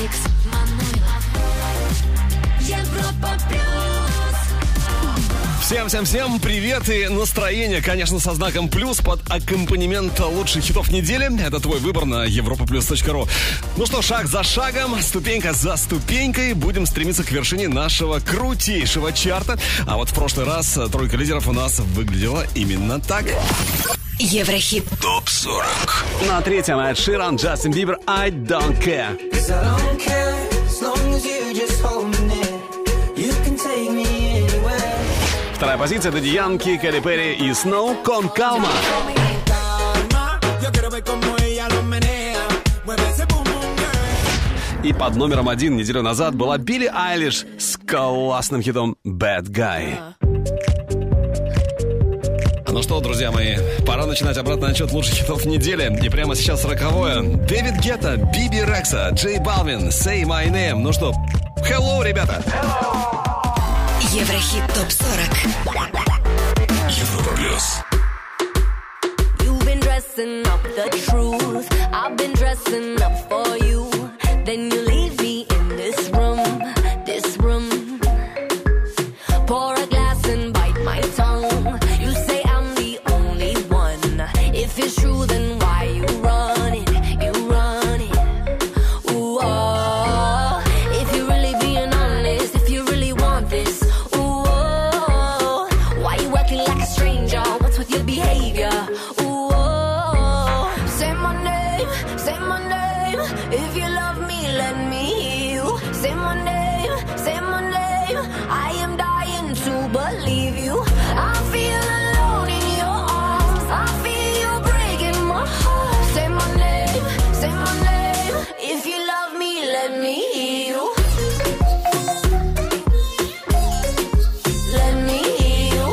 Алекс Манойлов. Европа плюс. Всем привет и настроение, конечно, со знаком плюс под аккомпанемент лучших хитов недели. Это твой выбор на europaplus.ru. Ну что, шаг за шагом, ступенька за ступенькой будем стремиться к вершине нашего крутейшего чарта. А вот в прошлый раз тройка лидеров у нас выглядела именно так. Еврохит ТОП-40. На третьем Эд Ширан, Джастин Бибер, I Don't Care. Вторая позиция — Дэдди Янки, Кэрри Перри и Сноу, Кон Калма. И под номером 1 неделю назад была Билли Айлиш с классным хитом Bad Guy. Ну что, друзья мои, пора начинать обратный отчет лучших хитов недели. И прямо сейчас 40-е. Дэвид Гетта, Биби Рекса, Джей Балвин, Say My Name. Ну что, hello, ребята! Еврохит ТОП-40. Европа плюс. You've been dressing up the truth. I've been dressing up for you. Then you leave me in this room, this room. Pour a glass and bite my tongue. You say I'm the only one. If it's true, then why you run it? You run it. Ooh, oh. If you're really being honest, if you really want this, ooh, oh. Why you acting like a stranger? What's with your behavior? Ooh, oh. Say my name, say my name. If you love me, let me hear you. Say my name, say my name. I am dying to believe you. I feel alone in your arms. I feel you breaking my heart. Say my name, say my name. If you love me, let me hear you. Let me hear you.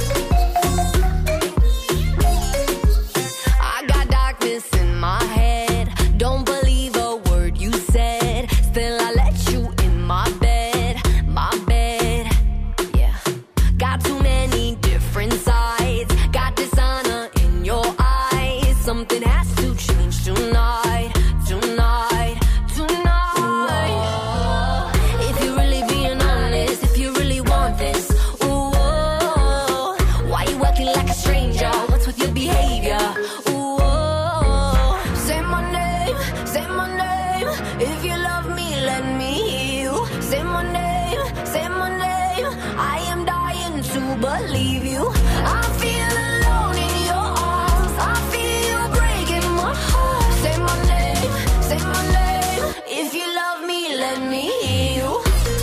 I got darkness in my head. Don't believe a word you said. Still I let you in my bed, yeah. Got too many different sides. Got dishonor in your eyes. Something has to change tonight, tonight, tonight. Ooh, if you're really being honest, if you really want this, ooh, oh, why you acting like a stranger? What's with your behavior? Ooh, oh, say my name, say my name. If you love me, let me hear you. Say my name, say my name. I am dying to believe you. I feel alone in your arms. I feel you breaking my heart. Say my name, say my name. If you love me, let me hear you.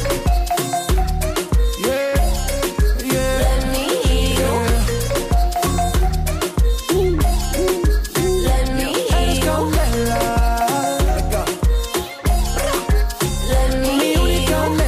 Let me hear you. Let me hear you. Let me hear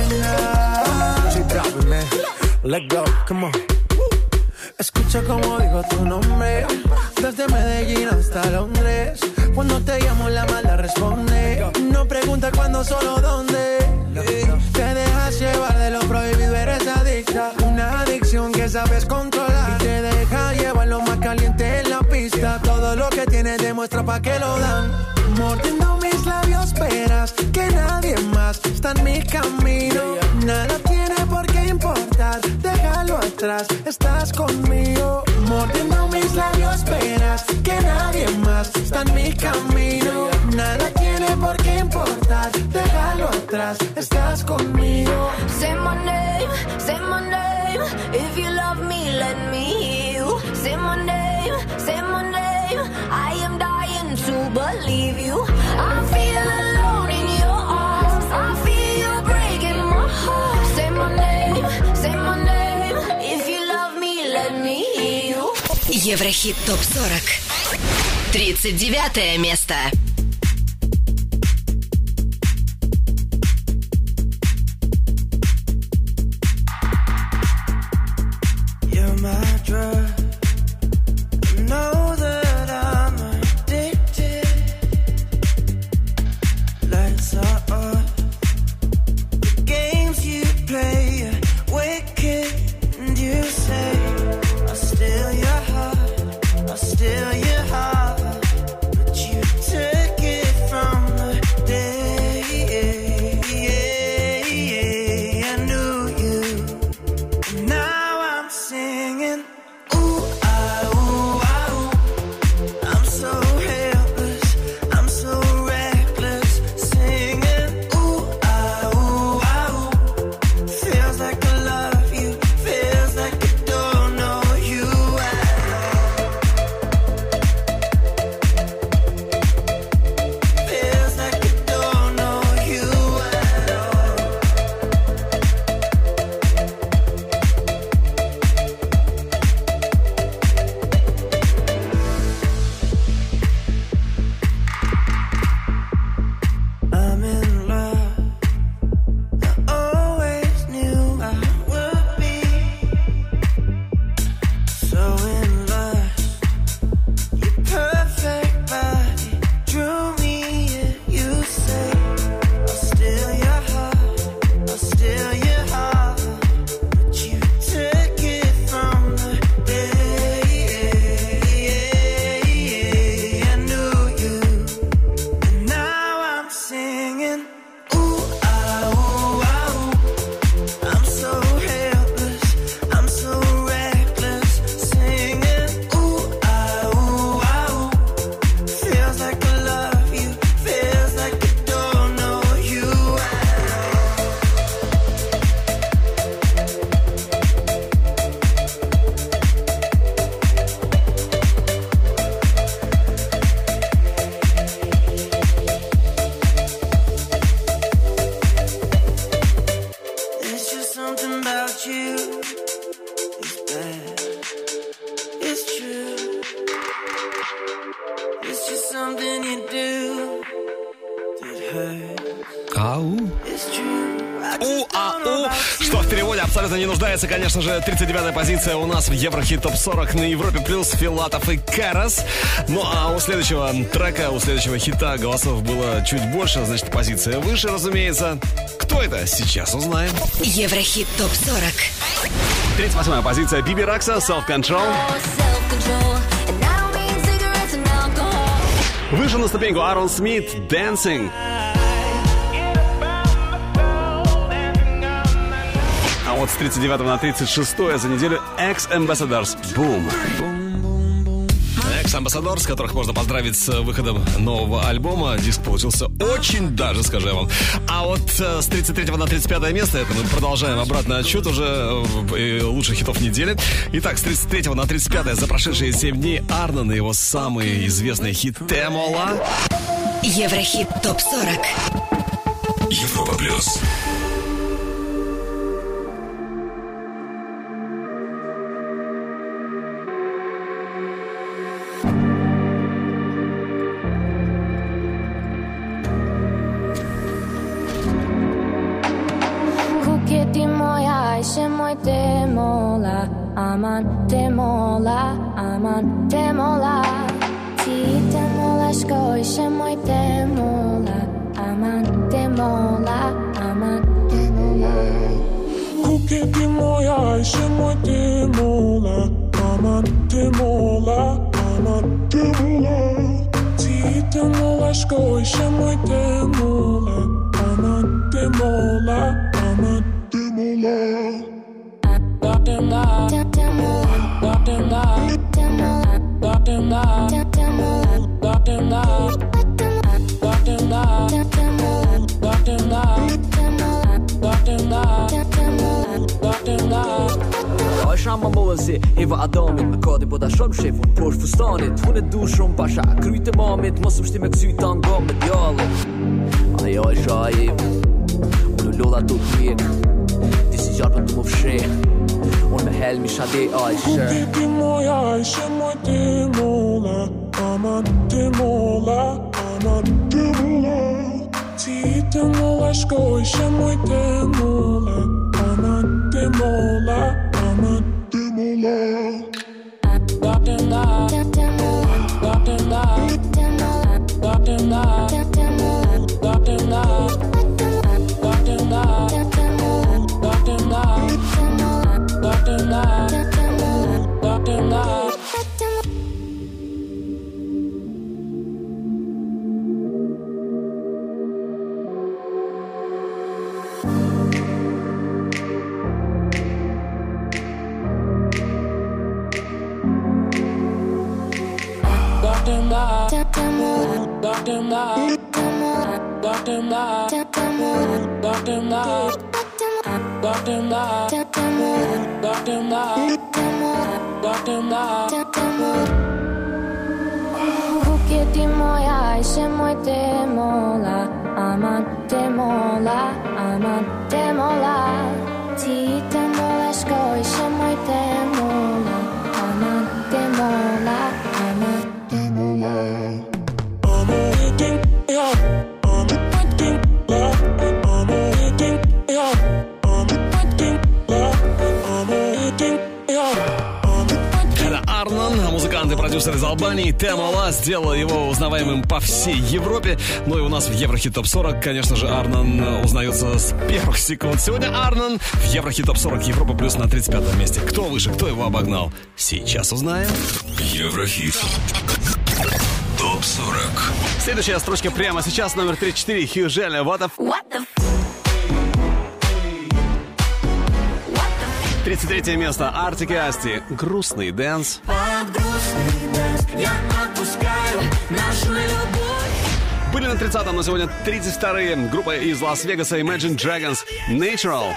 you. Let go, come on. Escucha como digo tu nombre. Desde Medellín hasta Londres. Cuando te llamo la mala responde. No pregunta cuándo, solo dónde. Te dejas llevar de lo prohibido, eres adicta. Una adicción que sabes controlar. Y te deja llevar lo más caliente en la pista. Todo lo que tienes demuestra pa' que lo dan. Mordiendo mis labios esperas que nadie más está en mi camino. Nada tiene por qué importar, déjalo atrás, estás conmigo. Mordiendo mis labios esperas que nadie más está en mi camino. Nada tiene por qué importar, déjalo atrás, estás conmigo. Say my name, say my name. If you love me, let me hear you. Say my name, say my name. I am dying to believe you. I feel alone in your arms. I feel you breaking my heart. Say my name, say my name. If you love me, let me hear you. Еврохит ТОП-40. 39 место. You're my drug. I know that I'm addicted. Lights are on. The games you play are wicked. And you say I'll steal your heart, I'll steal your heart. But you took just something you do that hurts. Ау. It's true. Что в переводе абсолютно не нуждается, конечно же. 39-я позиция у нас в Еврохит ТОП 40 на Европе плюс Филатов и Карас. Ну а у следующего трека, у следующего хита голосов было чуть больше, значит позиция выше, разумеется. Кто это? Сейчас узнаем. Еврохит ТОП 40. 38-я позиция Биби Ракса, Self Control. Выше на ступеньку Аарон Смит, Dancing. А вот с 39 на 36 за неделю X-Ambassadors, Boom. X-Ambassadors, которых можно поздравить с выходом нового альбома. Диск получился очень даже, скажу я вам. А вот с 33 на 35 место, это мы продолжаем обратный отсчет уже лучших хитов недели. Итак, с 33 на 35 за прошедшие 7 дней Арнон и его самый известный хит «Темола». Еврохит ТОП 40. Европа плюс. Moi temola, aman temola, aman temola. Ti temola skoise moi temola, aman temola, aman temola. Kuketi moja se moi temola, aman temola, aman temola. Ti temola skoise moi temola, aman temola, aman temola. Samma målse, Eva Adamit Makadi båda shormchef och Porsche förstanigt. Hon är duschom pasha, kryte mamit måste bestämma exut angång med dialen. Aj aj shaib, och nu låda tog mig. This is your bottom of shit. Och med helm i shade aj shit. Kuketi moja se moi temola, aman temola, aman temola. Ti temola skoise moi temola, aman temola, aman temola. Kuketi moja se moi temola, aman temola, aman temola. Ti temola skoise moi temola, aman temola, aman temola. Музыкант и продюсер из Албании Темола сделал его узнаваемым по всей Европе. Ну и у нас в Еврохит ТОП 40, конечно же, Арнон узнается с первых секунд. Сегодня Арнон в Еврохит ТОП 40 Европа плюс на 35 месте. Кто выше, кто его обогнал? Сейчас узнаем. Еврохит ТОП 40. Следующая строчка прямо сейчас, номер 34, Хью Джелли, What the 33 место, Артик и Асти, Грустный дэнс. Были на 30-м, но сегодня 32-е. Группа из Лас-Вегаса Imagine Dragons, Natural.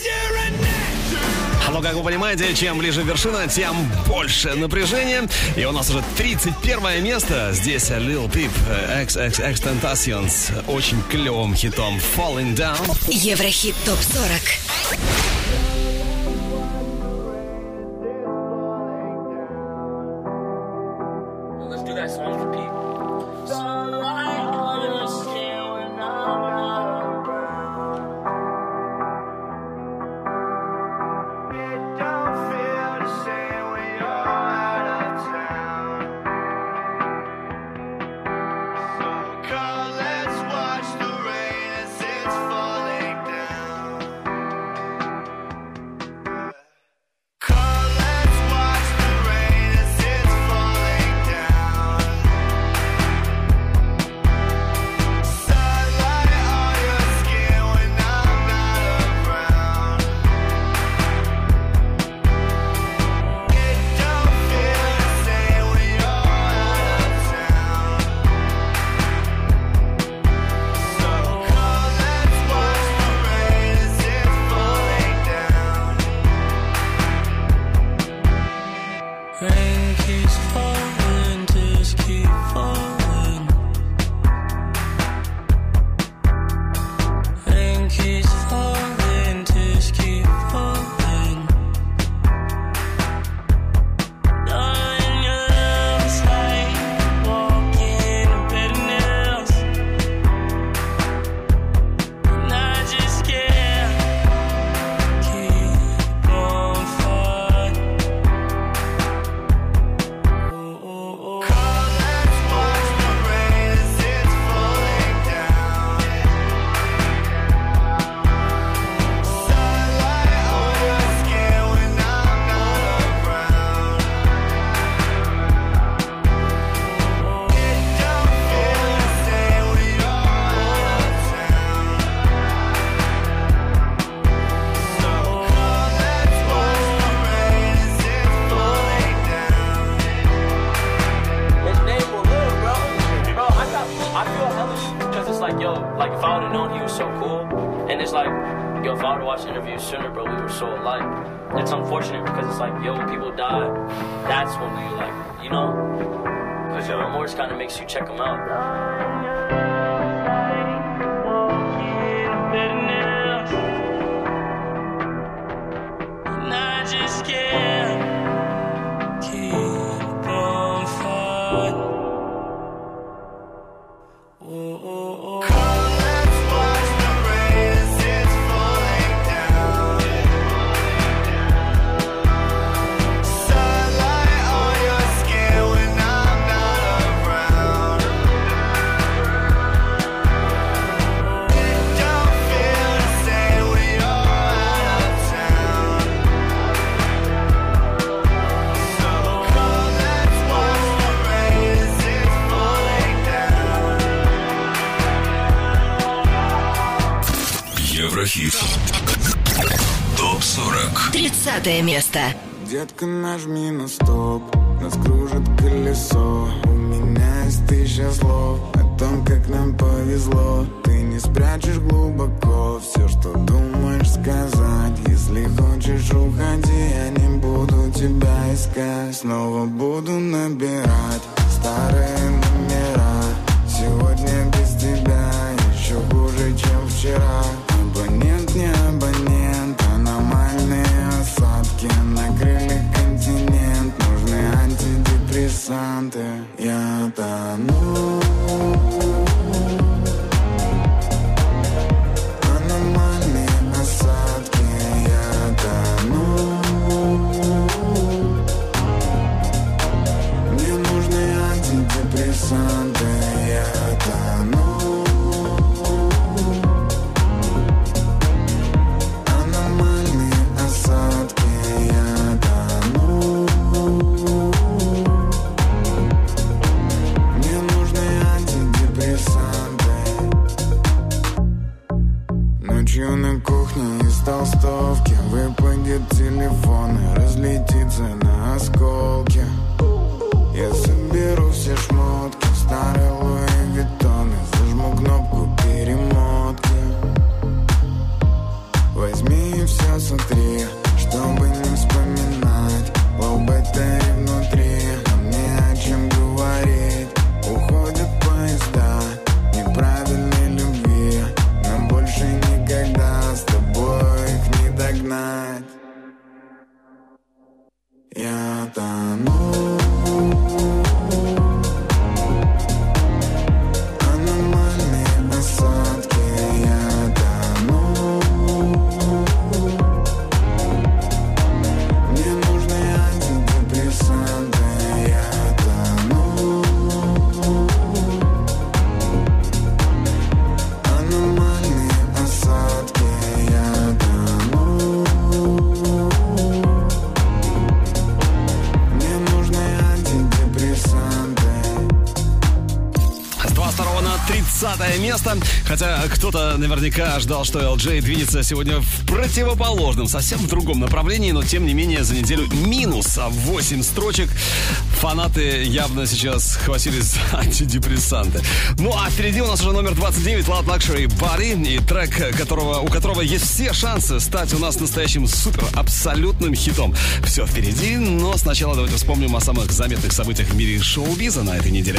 Но, как вы понимаете, чем ближе вершина, тем больше напряжения. И у нас уже 31 место. Здесь Lil Peep, XXXTentacion с очень клевым хитом Falling Down. Еврохит ТОП 40. Let's do that song for Pete. if I would've known he was so cool, and it's like, yo, if I would've watched interviews sooner, bro, we were so alike. It's unfortunate because it's like, yo, when people die, that's when you like, you know, because your remorse kind of makes you check them out. And I just can't keep on fighting. Еврохит. ТОП-40. 30 место. Детка, нажми на стоп, нас кружит колесо. У меня есть 1000 слов о том, как нам повезло. Ты не спрячешь глубоко все, что думаешь сказать. Если хочешь, уходи, я не буду тебя искать. Снова буду набирать старые номера. Сегодня без тебя еще хуже, чем вчера. Абонент, не абонент, аномальные осадки накрыли континент. Нужны антидепрессанты. Я тону. Аномальные осадки. Я тону. Мне нужны антидепрессанты. Я тону. На кухне из толстовки выпадет телефон и разлетится на осколки. Я соберу все шмотки, старые Луи Виттоны, зажму кнопку перемотки. Возьми и все сотри, чтобы не вспоминать об этой внутри. Нам не о чем говорить. Уходят поезда неправильной любви. Нам больше никогда с тобой их не догнать. Я тону. Аномальные осадки. Я тону. Мне нужны антидепрессанты. Я тону. Аномальные осадки. Я тону. Мне нужны антидепрессанты. С 22 на 30 место. Хотя кто-то наверняка ждал, что LJ двинется сегодня в противоположном, совсем в другом направлении, но тем не менее за неделю минус 8 строчек. Фанаты явно сейчас хватились за антидепрессанты. Ну а впереди у нас уже номер 29, Loud Luxury Body, и трек, у которого есть все шансы стать у нас настоящим супер абсолютным хитом. Все впереди, но сначала давайте вспомним о самых заметных событиях в мире шоу-биза на этой неделе.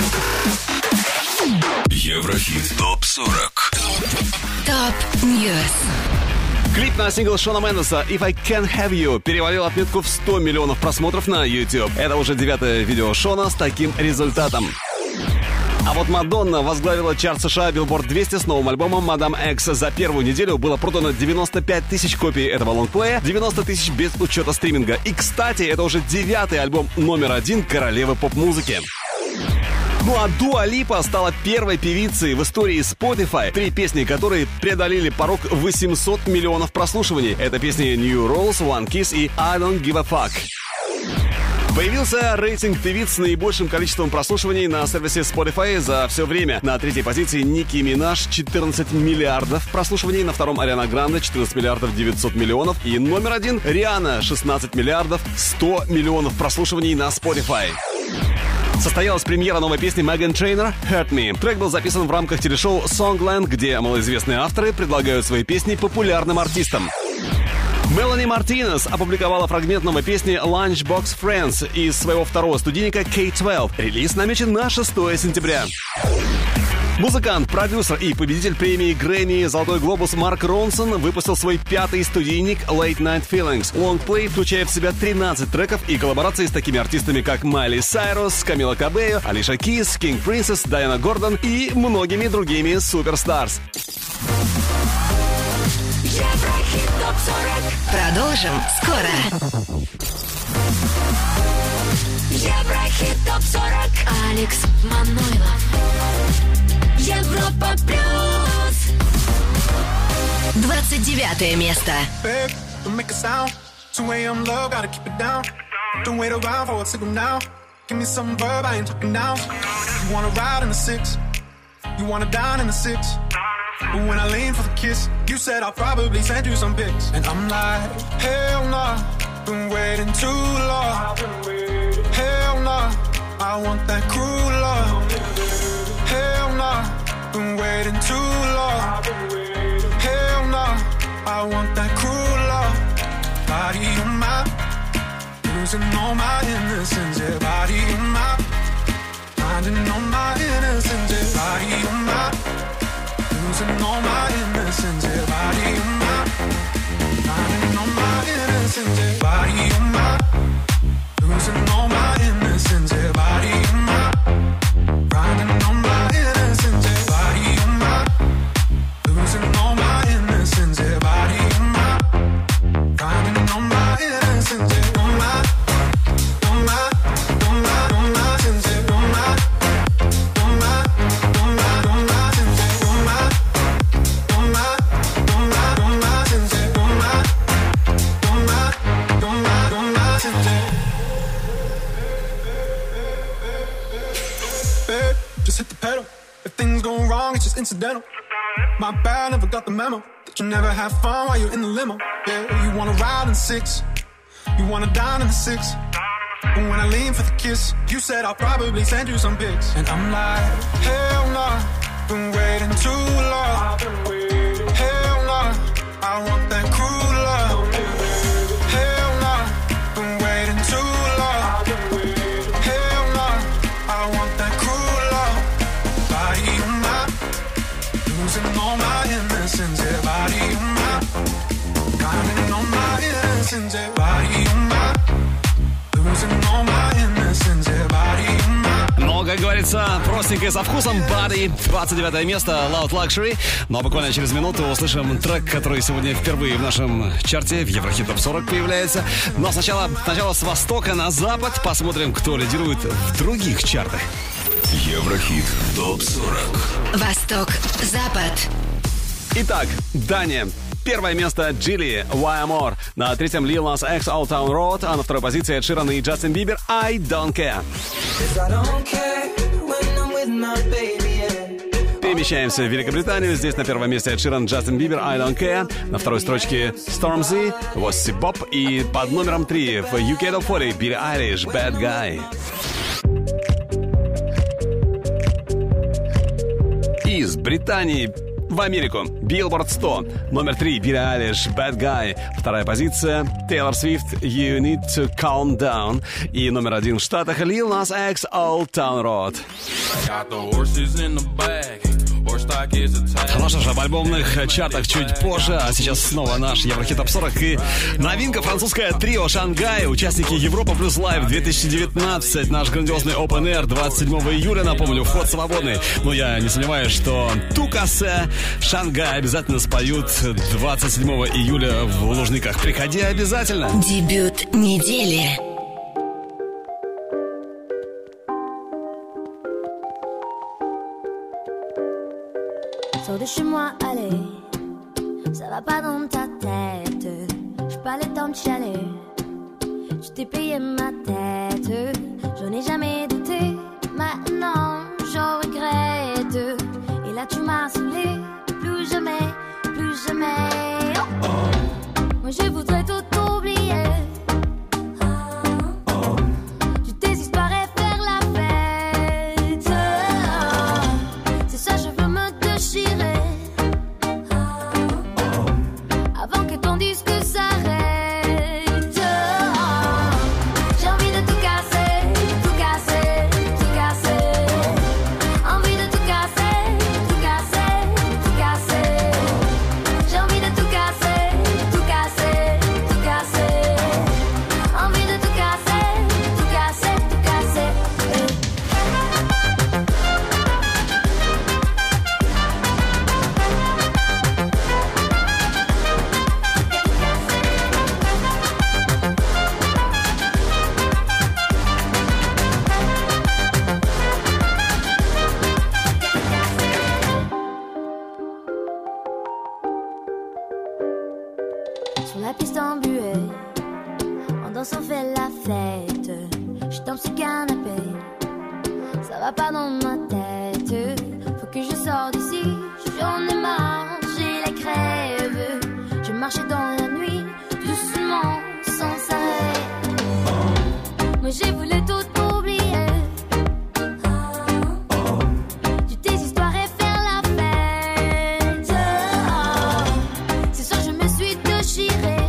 Еврохит ТОП-40. Топ Ньюс. Клип на сингл Шона Мендеса «If I Can't Have You» перевалил отметку в 100 миллионов просмотров на YouTube. Это уже 9-е видео Шона с таким результатом. А вот Мадонна возглавила чарт США Billboard 200 с новым альбомом «Мадам Экс». За первую неделю было продано 95 тысяч копий этого лонгплея, 90 тысяч без учета стриминга. И, кстати, это уже 9-й альбом номер 1 королевы поп-музыки. Ну а Дуа Липа стала первой певицей в истории Spotify, 3 песни которые преодолели порог 800 миллионов прослушиваний. Это песни New Rules, One Kiss и I Don't Give a Fuck. Появился рейтинг певиц с наибольшим количеством прослушиваний на сервисе Spotify за все время. На 3-й позиции Ники Минаж, 14 миллиардов прослушиваний. На 2-м Ариана Гранде, 14 миллиардов 900 миллионов. И номер 1 Риhanna, 16 миллиардов 100 миллионов прослушиваний на Spotify. Состоялась премьера новой песни Меган Трейнер «Hurt Me». Трек был записан в рамках телешоу Songland, где малоизвестные авторы предлагают свои песни популярным артистам. Мелани Мартинес опубликовала фрагмент новой песни Lunchbox Friends из своего второго студийника K12. Релиз намечен на 6 сентября. Музыкант, продюсер и победитель премии Грэмми «Золотой глобус» Марк Ронсон выпустил свой 5-й студийник Late Night Feelings. Лонгплей включает в себя 13 треков и коллаборации с такими артистами, как Майли Сайрус, Камила Кабео, Алиша Кис, King Princess, Дайана Гордон и многими другими суперстарс. Еврохит ТОП-40. Продолжим скоро. Еврохит ТОП-40. Алекс Манойлов. Европа плюс. 29 место. Don't make a sound. 2 a.m. low, gotta keep it down. Don't wait around for a signal now. Give me some verb, I ain't talking now. You wanna ride in the 6, you wanna dine in the 6. But when I lean for the kiss, you said I'll probably send you some pics. And I'm like, hell nah, been waiting too long. Hell nah, I want that cruel love. Hell nah, been waiting too long. Hell nah, I want that cruel love. Body on my, losing all my innocence. Yeah, body on my, finding all my innocence. Yeah, body on my, losing all my innocence. Yeah, body on my, finding all my innocence. Yeah, body on my, losing all my innocence. Yeah, body on my, finding all my innocence. Yeah, body on my, losing all my innocence. Yeah, body on my, finding all my innocence. Yeah, on my, on my, on my, on my innocence. Yeah, on my, on my, on my, on my innocence. Yeah, on my, on my, on my, on my innocence. Yeah, on my, on my, on my, on my innocence. Babe, just hit the pedal. If things go wrong, it's just incidental. My bad, never got the memo that you never have fun while you're in the limo. Yeah, you wanna ride in 6, you wanna dine in the 6. But when I lean for the kiss, you said I'll probably send you some pics. And I'm like, hell nah, been waiting too long. Hell nah, I want that cruel love. Hell nah, been waiting too long. Hell nah, I want that cruel love. Body on my, losing all my innocence. Yeah, body on my, counting on my innocence. Yeah, body on my, losing all my innocence. Yeah, body on my. Но, как говорится, простенько и со вкусом. Body, 29 место, Loud Luxury. Но буквально через минуту услышим трек, который сегодня впервые в нашем чарте в Еврохит ТОП-40 появляется. Но сначала с востока на запад посмотрим, кто лидирует в других чартах. Еврохит ТОП-40. Восток, запад. Итак, Дания. Первое место Джилли, Why More. На 3-м Lil Nas X, Old Town Road. А на 2-й позиции Эд Ширан и Джастин Бибер, I Don't Care. Перемещаемся в Великобританию. Здесь на 1-м месте Эд Ширан, Джастин Бибер, I Don't Care. На 2-й строчке Stormzy, What's It Bop. И под номером 3 в UK Top 40 Билли Айлиш, Bad Guy. Из Британии в Америку. Billboard 100. Номер 3. Билли Айлиш, Bad Guy. 2-я позиция. Тейлор Свифт, You Need to Calm Down. И номер 1 в Штатах. Lil Nas X, Old Town Road. Ну что ж, об альбомных чартах чуть позже, а сейчас снова наш Еврохит ТОП-40 и новинка французское трио «Шангай», участники Европа Плюс Лайв 2019, наш грандиозный Open Air 27 июля, напомню, вход свободный. Но я не сомневаюсь, что Тукасе, «Шангай» обязательно споют 27 июля в Лужниках. Приходи обязательно. Дебют недели. Sors de chez moi, allez, ça va pas dans ta tête. J'ai pas le temps de chialer, je t'ai payé ma tête. J'en ai jamais douté, maintenant j'en regrette. Et là tu m'as saoulé, plus jamais, plus jamais. Oh, oh. Moi je voudrais tout oublier. Je désespérais faire la fête. piste embuée. En dansant, on fait la fête. Je tombe sur le canapé. Ça va pas dans ma tête. Faut que je sorte d'ici. J'en ai marre, j'ai la crève. Je marchais dans la nuit, doucement, sans arrêt. Moi j'ai voulu tout oublier. Du tes histoires et faire la fête. C'est sûr je me suis déchirée.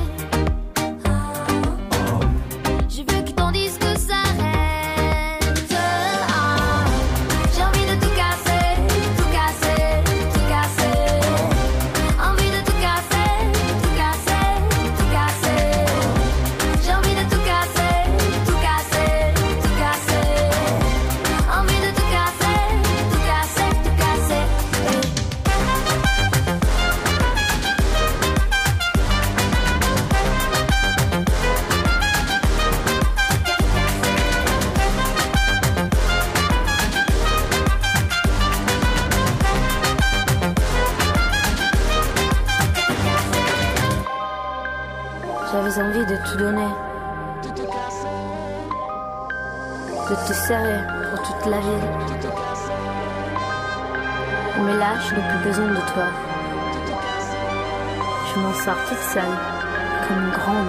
Je veux que ton disque s'arrête. J'ai envie de tout casser, tout casser, tout casser. Envie de tout casser, tout casser, tout casser. J'ai envie de tout casser, tout casser, tout casser. Envie de tout casser, tout casser, tout casser. J'avais envie de tout donner, de te serrer pour toute la vie. Mais là, je n'ai plus besoin de toi. Je m'en sors toute seule, comme une grande.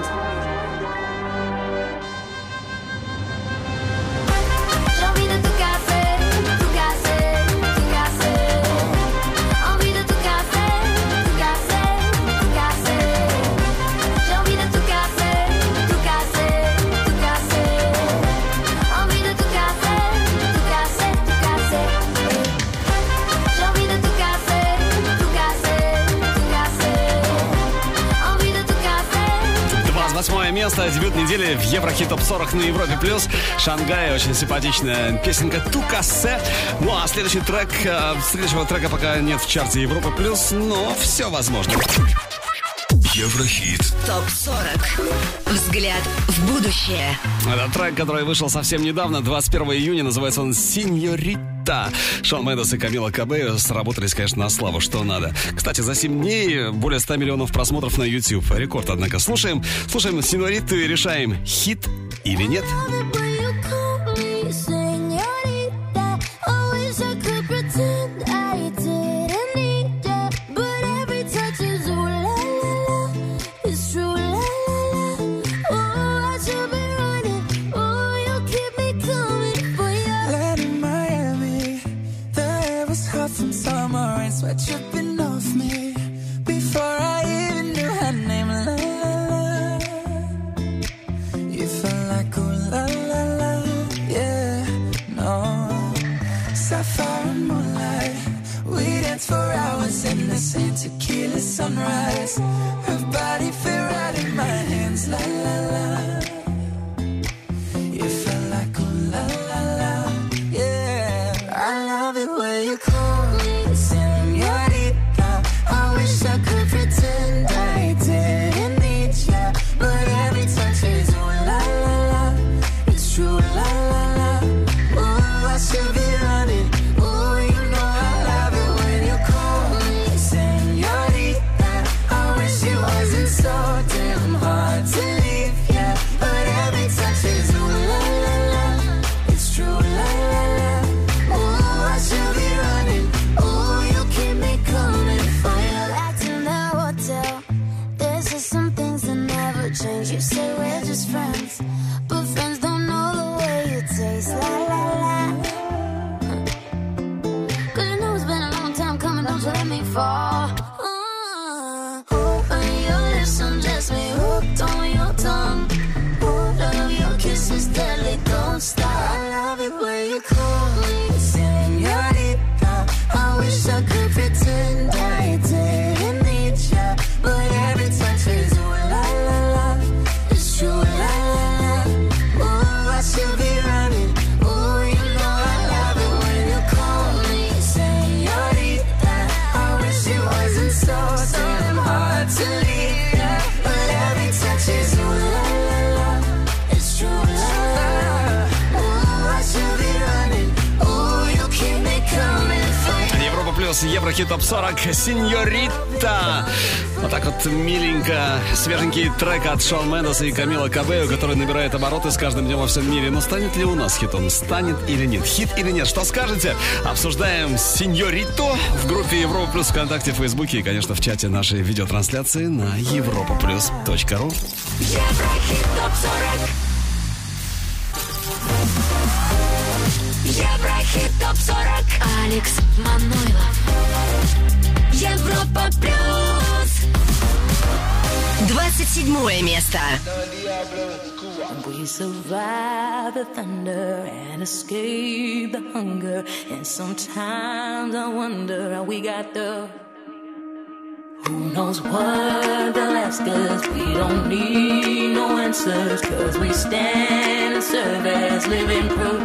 J'ai envie de tout casser, tout casser, tout casser. Envie de tout casser, tout casser, tout casser. J'ai envie de tout casser, tout casser, tout casser. Envie de tout casser, tout casser, tout casser. J'ai envie de tout casser, tout casser, tout casser. Envie de tout casser. 28 место, дебют недели в Еврохит Топ 40 на Европе Плюс. Шангай, очень симпатичная песенка «Тукасе». Ну а следующий трек, следующего трека пока нет в чарте Европы Плюс, но все возможно. Еврохит. Топ 40. Взгляд в будущее. Это трек, который вышел совсем недавно, 21 июня, называется он «Синьорита». Шон Мендес и Камила Кабелло сработались, конечно, на славу, что надо. Кстати, за 7 дней более 100 миллионов просмотров на YouTube. Рекорд, однако. Слушаем «Синьориту» и решаем, хит или нет. Sweat dripping off me before I even knew her name. La la la, you felt like ooh la la la, yeah. No, sapphire and moonlight, we danced for hours in the same tequila sunrise. Her body fit right in my hands. La la la, you felt like ooh la la la, yeah. I love it when you call me. I wish I could pretend I didn't need ya, but every touch is ooh la la la, it's true la la la. Ooh, I should be running. Ooh, you know I love it when you call me señorita. I wish it wasn't so damn hard to leave, yeah, but every touch is ooh la la la, it's true la la la. Ooh, I should be running. Ooh, you плюс Еврохит Топ 40 Синьорита. Вот так вот миленько. Свеженький трек от Шон Мендеса и Камила Кабео, который набирает обороты с каждым днем во всем мире. Но станет ли у нас хитом? Станет или нет? Хит или нет? Что скажете? Обсуждаем Синьориту в группе Европа Плюс ВКонтакте, в Фейсбуке и, конечно, в чате нашей видеотрансляции на europaplus.ru. Еврохит Топ 40. Еврохит Топ 40. Алекс Манойлов. Европа Плюс. 27 место. We survive the thunder and escape the hunger. And sometimes I wonder how we got there. Who knows what they'll ask us? We don't need no answers, 'cause we stand and serve as living proof.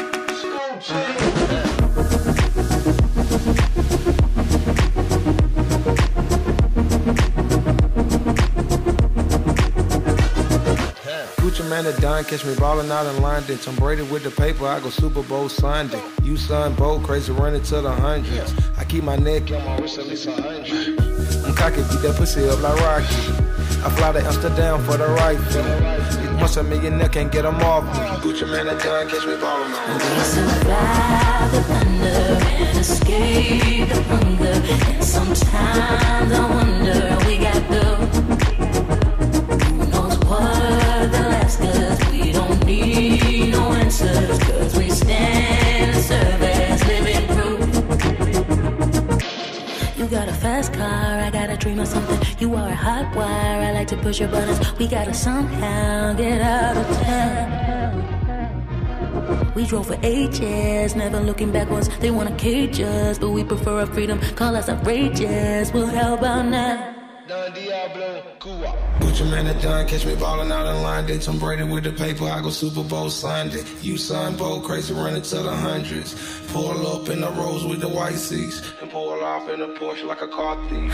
Gucci man at done, catch me ballin' out in London. Tom Brady with the paper, I go Super Bowl Sunday. You son, bold, crazy, running to the hundreds. I keep my neck on my wrist at least 100. I'm cocky, beat that pussy up like Rocky. I fly to Amsterdam for the right fee. Once a millionaire can't get them off me. Gucci man at done, catch me ballin' out. We survive the thunder and escape the hunger. And sometimes I wonder how we got through. Who knows what they'll ask us? We don't need no answers, 'cause we stand and serve as living proof. You got a fast car, I got a dream of something. You are a hot wire, I like to push your buttons. We gotta somehow get out of town. We drove for 8 years, never looking backwards. They wanna cage us, but we prefer our freedom. Call us outrageous, well how about now? Gucci man at done, catch me ballin' out in London. Tom Brady with the paper, I go Super Bowl Sunday. You son, bold, crazy, running to the hundreds. Pull up in the Rolls with the white seats, and pull off in a Porsche like a car thief.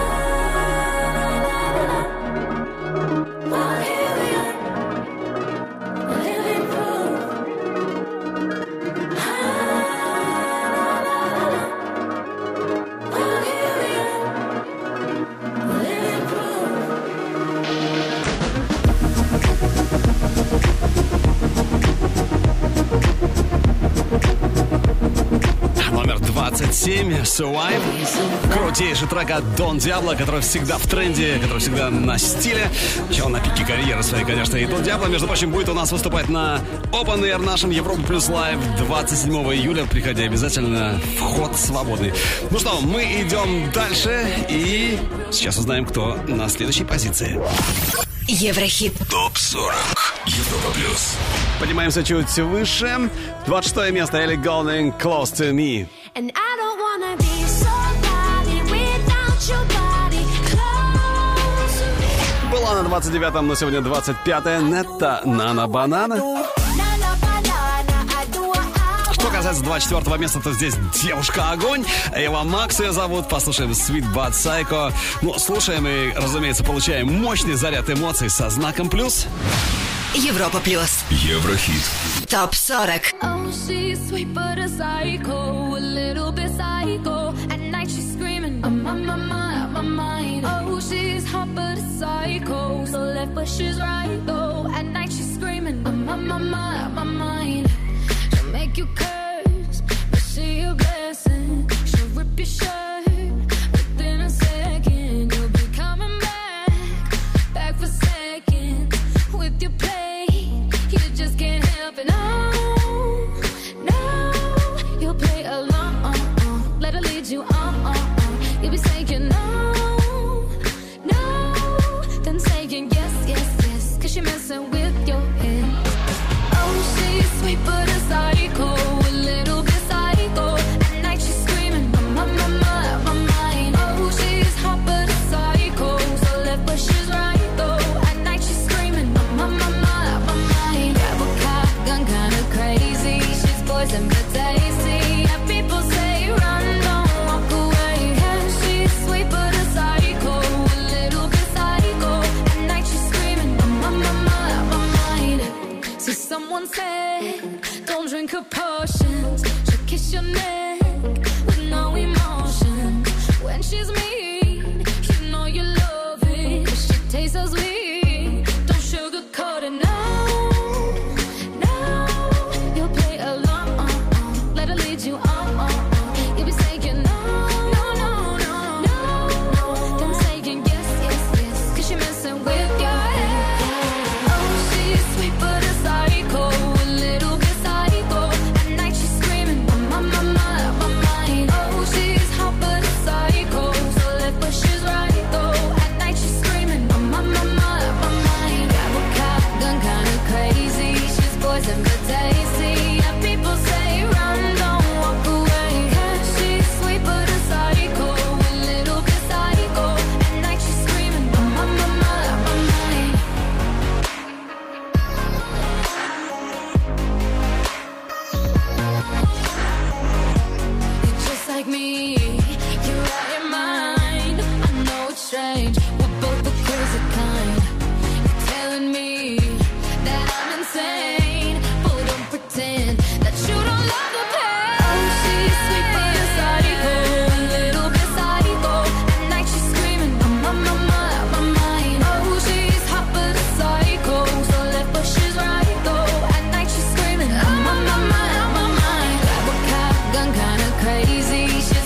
Номер 27, Survive. Крутейший трек от Don Diablo, который всегда в тренде, который всегда на стиле. Еще он на пике карьеры своей, конечно. И Don Diablo, между прочим, будет у нас выступать на Open Air нашем Европа Плюс Лайв 27 июля. Приходи обязательно, вход свободный. Ну что, мы идем дальше и сейчас узнаем, кто на следующей позиции. Еврохит Топ 40. Европа Плюс. Поднимаемся чуть выше. 26 место, Элли Голдинг, Close to Me. And I don't wanna be somebody without your body close to me. Была на 29-м, но сегодня 25-я. Нетта Нана Банана. Что касается 24-го места, то здесь девушка-огонь. Эва Макс ее зовут. Послушаем Sweet But Psycho. Ну, слушаем и, разумеется, получаем мощный заряд эмоций со знаком плюс. Европа Плюс. Еврохит. Топ 40. Oh, she's sweet but a psycho, a little bit psycho. At night she's screaming, I'm on my mind. Oh, she's hot but a psycho, so left but she's right though. At night she's screaming, I'm on my mind. She'll make you curse, but she a blessing. She'll rip your shirt within a second. You'll be coming back for second with your play. You just can't help it, no. You'll play along, let her lead you on. You'll be saying no, then saying yes, 'cause you're messing with your head. Oh, she's sweet but a psycho, a little bit psycho. At night she's screaming, my mind. Oh, she's hot but a psycho, so left but she's right though. At night she's screaming, my mind. Grab a car, gun kinda crazy. She's poison but tasty. Yeah, people say run, don't walk away.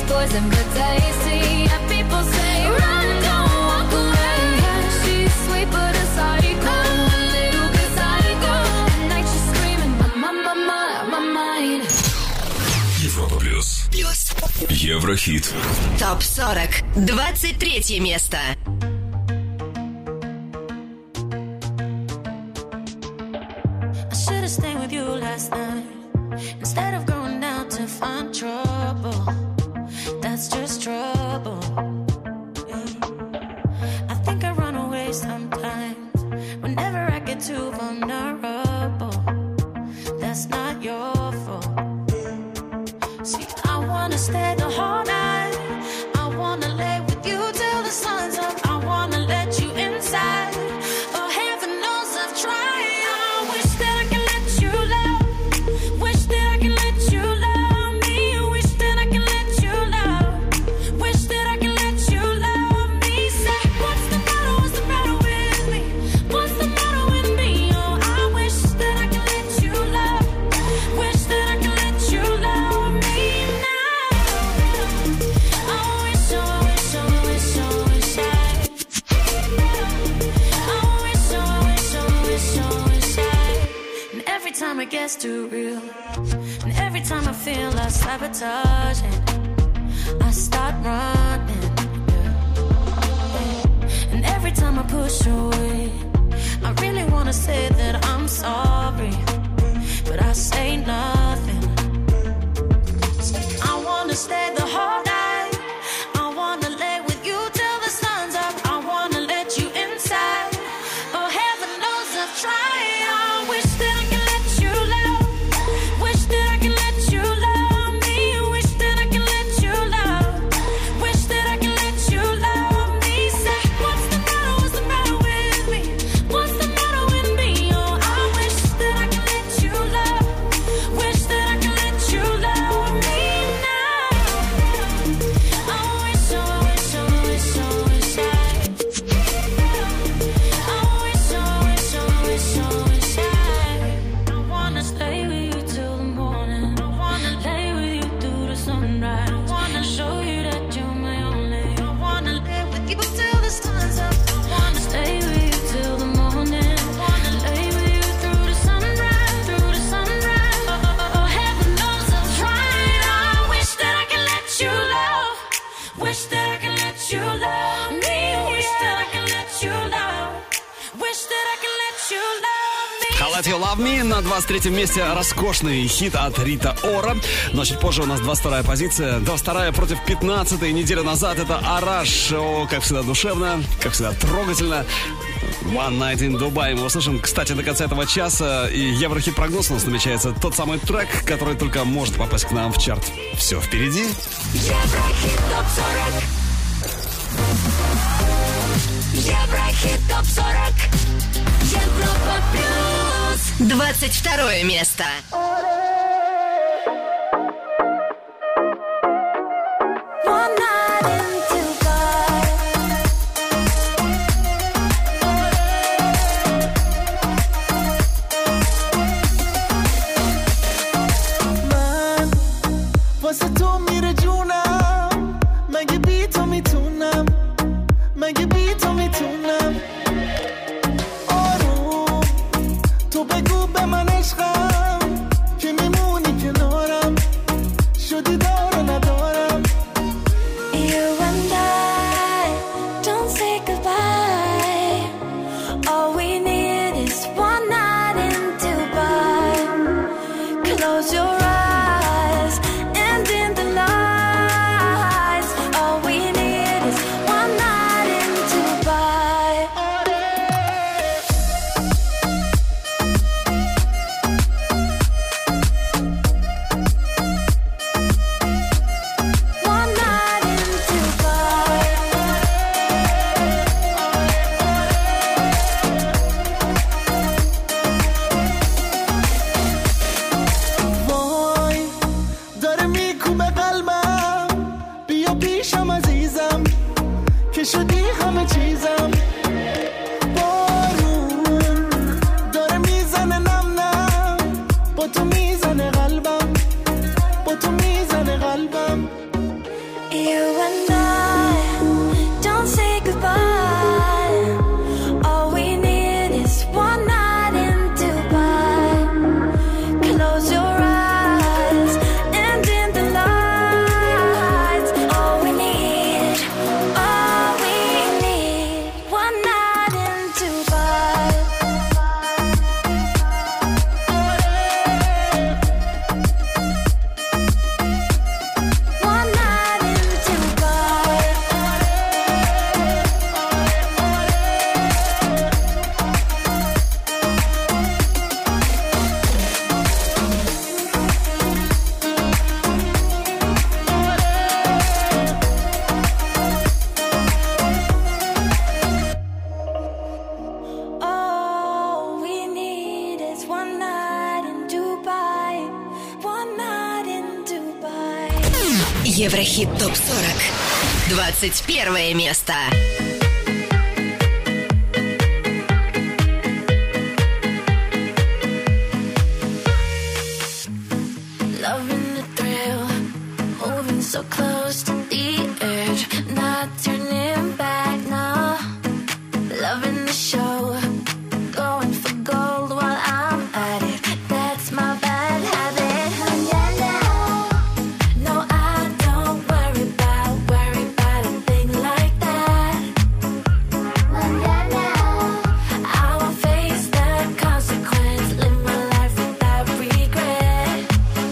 poison but tasty. And people say run, don't walk away. She's sweet but a psycho, a little bit psycho. At night she's screaming my mind. Европа плюс. Еврохит. ТОП 40. 23 место. I should have stayed with you last night instead of going out to find trouble. That's just trouble. I think I run away sometimes whenever I get too vulnerable. That's not your fault. See, I wanna stay the whole night. I wanna lay with you till the sun's up. I wanna let you inside. Oh, heaven knows I've tried. I wish that I can let you love. Wish that I can let you love me. Wish that I can let you love. Wish that I can let you love me. Say, what's the matter? What's the matter with me? What's the matter with me? Oh, I wish that I can let you love. Wish that I can let you love me now. I wish, oh, I wish, oh, I wish, oh, I wish I. I wish, oh, I wish, oh, I wish, oh, I wish I. And every time it gets too real, and every time I feel I sabotage it, I start running. And every time I push away, I really wanna say that I'm sorry, but I say nothing. I wanna stay the whole night. I wanna lay with you till the sun's up. I wanna let you inside. Oh, heaven knows I've tried. I wish that I can let you love. Wish that I can let you love me. Wish that I can let you love. Wish that I can let you love me. Say, what's the matter? What's the matter with me? What's the matter with me? Oh, I wish that I can let you love. Wish that I can let you love me now. I wish, oh, I wish, oh, I wish, oh, I wish I. I wish, oh, I wish, oh, I wish, oh, I wish I. I wanna stay with you till the morning. I wanna lay with you through the sunrise. I wanna show you that you're my only. I wanna live with you till the sun's up. I wanna stay with you till the morning. I wanna lay with you through the sunrise, through the sunrise. Oh, heaven knows I've tried. I wish that I can let you love. Wish that I can let you love me. Wish that I can let you love. Wish that I can let you love me. I Let You Love Me на 23-м месте. Роскошный хит от Рита Ора. Но чуть позже у нас 22-я позиция. 22-я против 15-й. Неделю назад это Араш. О, как всегда душевно, как всегда трогательно. One Night in Dubai. Мы услышим, кстати, до конца этого часа. И Еврохит прогноз у нас намечается. Тот самый трек, который только может попасть к нам в чарт. Все впереди. Еврохит ТОП 40. Еврохит ТОП 40. Европа плюс. 22 место. One night in Dubai. من واسه تو میره جونم، مگه بی تو میتونم، مگه بی تو میتونم. آروم تو بگو به من عشقم که میمونی کنارم، شدی دار و ندارم. You and I don't say goodbye. All we need is one night in Dubai. Close your eyes and in the lights. All we need is one night in Dubai. One night in Dubai. وای داره میکوبه قلبم، بیا پیشم عزیزم که شدی همه چیزم. بارون داره میزنه نم نم، با تو میزنه قلبم، با تو میزنه قلبم. You and I don't say goodbye. All we need is one night in Dubai. Close your eyes and dim the lights. All we need, one night in Dubai. One night in Dubai. All we need is one night in Dubai. One night in Dubai. Еврохит ТОП-40. 21 место. Loving the thrill, moving so close to the edge, not turning back now. Loving the show, going for gold while I'm at it. That's my bad habit. No, I don't worry about a thing like that. I won't face the consequence, live my life without regret.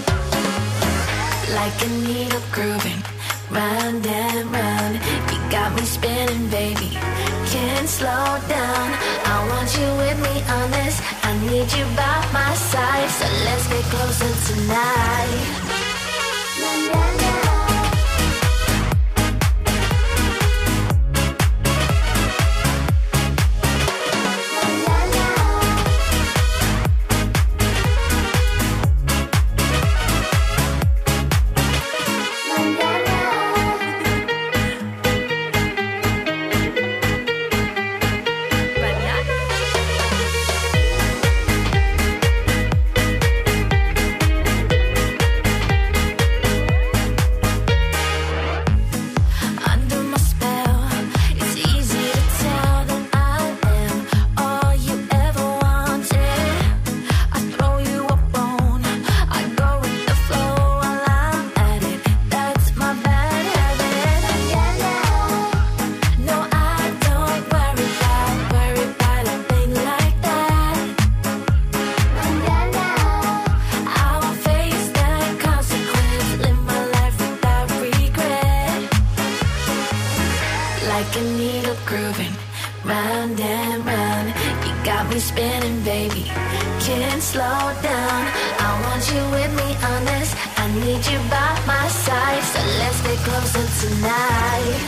Like a needle grooving, round and round. You got me spinning, baby. Can't slow down. I want you with me on this. I need you by my side. So let's get closer tonight. Under my spell, it's easy to tell that I am all you ever wanted. I throw you a bone, I go with the flow while I'm at it. That's my bad habit. No, I don't worry about a thing like that. I won't face the consequence, live my life without regret. Like a needle grooving, round and round. You got me spinning, baby. Can't slow down. I want you with me on this. I need you by my side. So let's get closer tonight.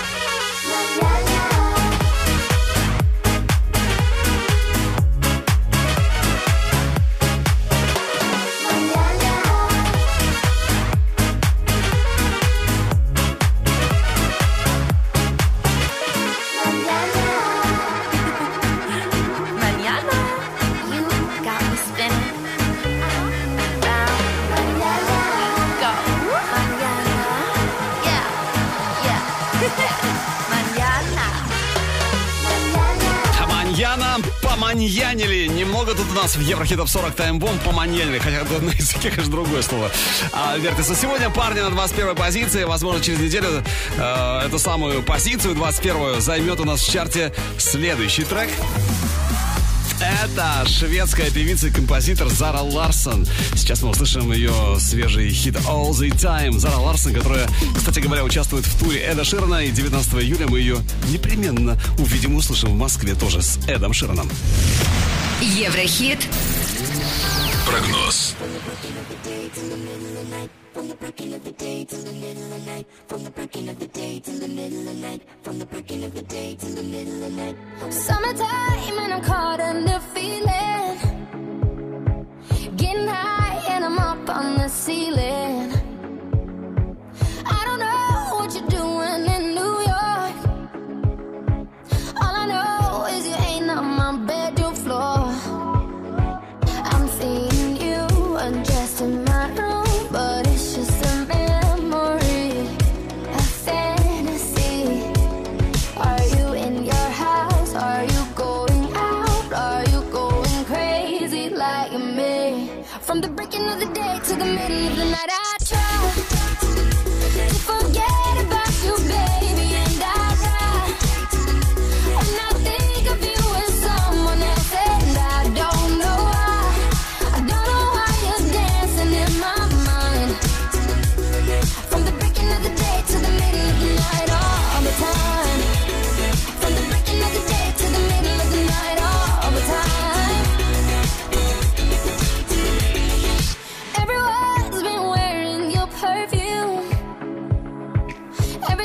Mañana, you got me spinning. Go. Mañana. Yeah. Mañana. Маньяна поманьянили. Немного тут у нас в Еврохит Топ 40 таймбомб поманьянили. Хотя это на языке, конечно, другое слово. Вертится сегодня парни на 21 позиции. Возможно, через неделю эту самую позицию, 21-ю, займет у нас в чарте следующий трек. Это шведская певица и композитор Зара Ларсон. Сейчас мы услышим ее свежий хит All the Time. Зара Ларсон, которая, кстати говоря, участвует в туре Эда Ширана. И 19 июля мы ее непременно увидим и услышим в Москве тоже с Эдом Шираном. Еврохит. Прогноз. Summertime and I'm caught in the feeling. Getting high and I'm up on the ceiling. I don't know what you're doing in New York. All I know is you ain't on my bedroom floor. I'm seeing you undressed in my room, but it's just a memory. I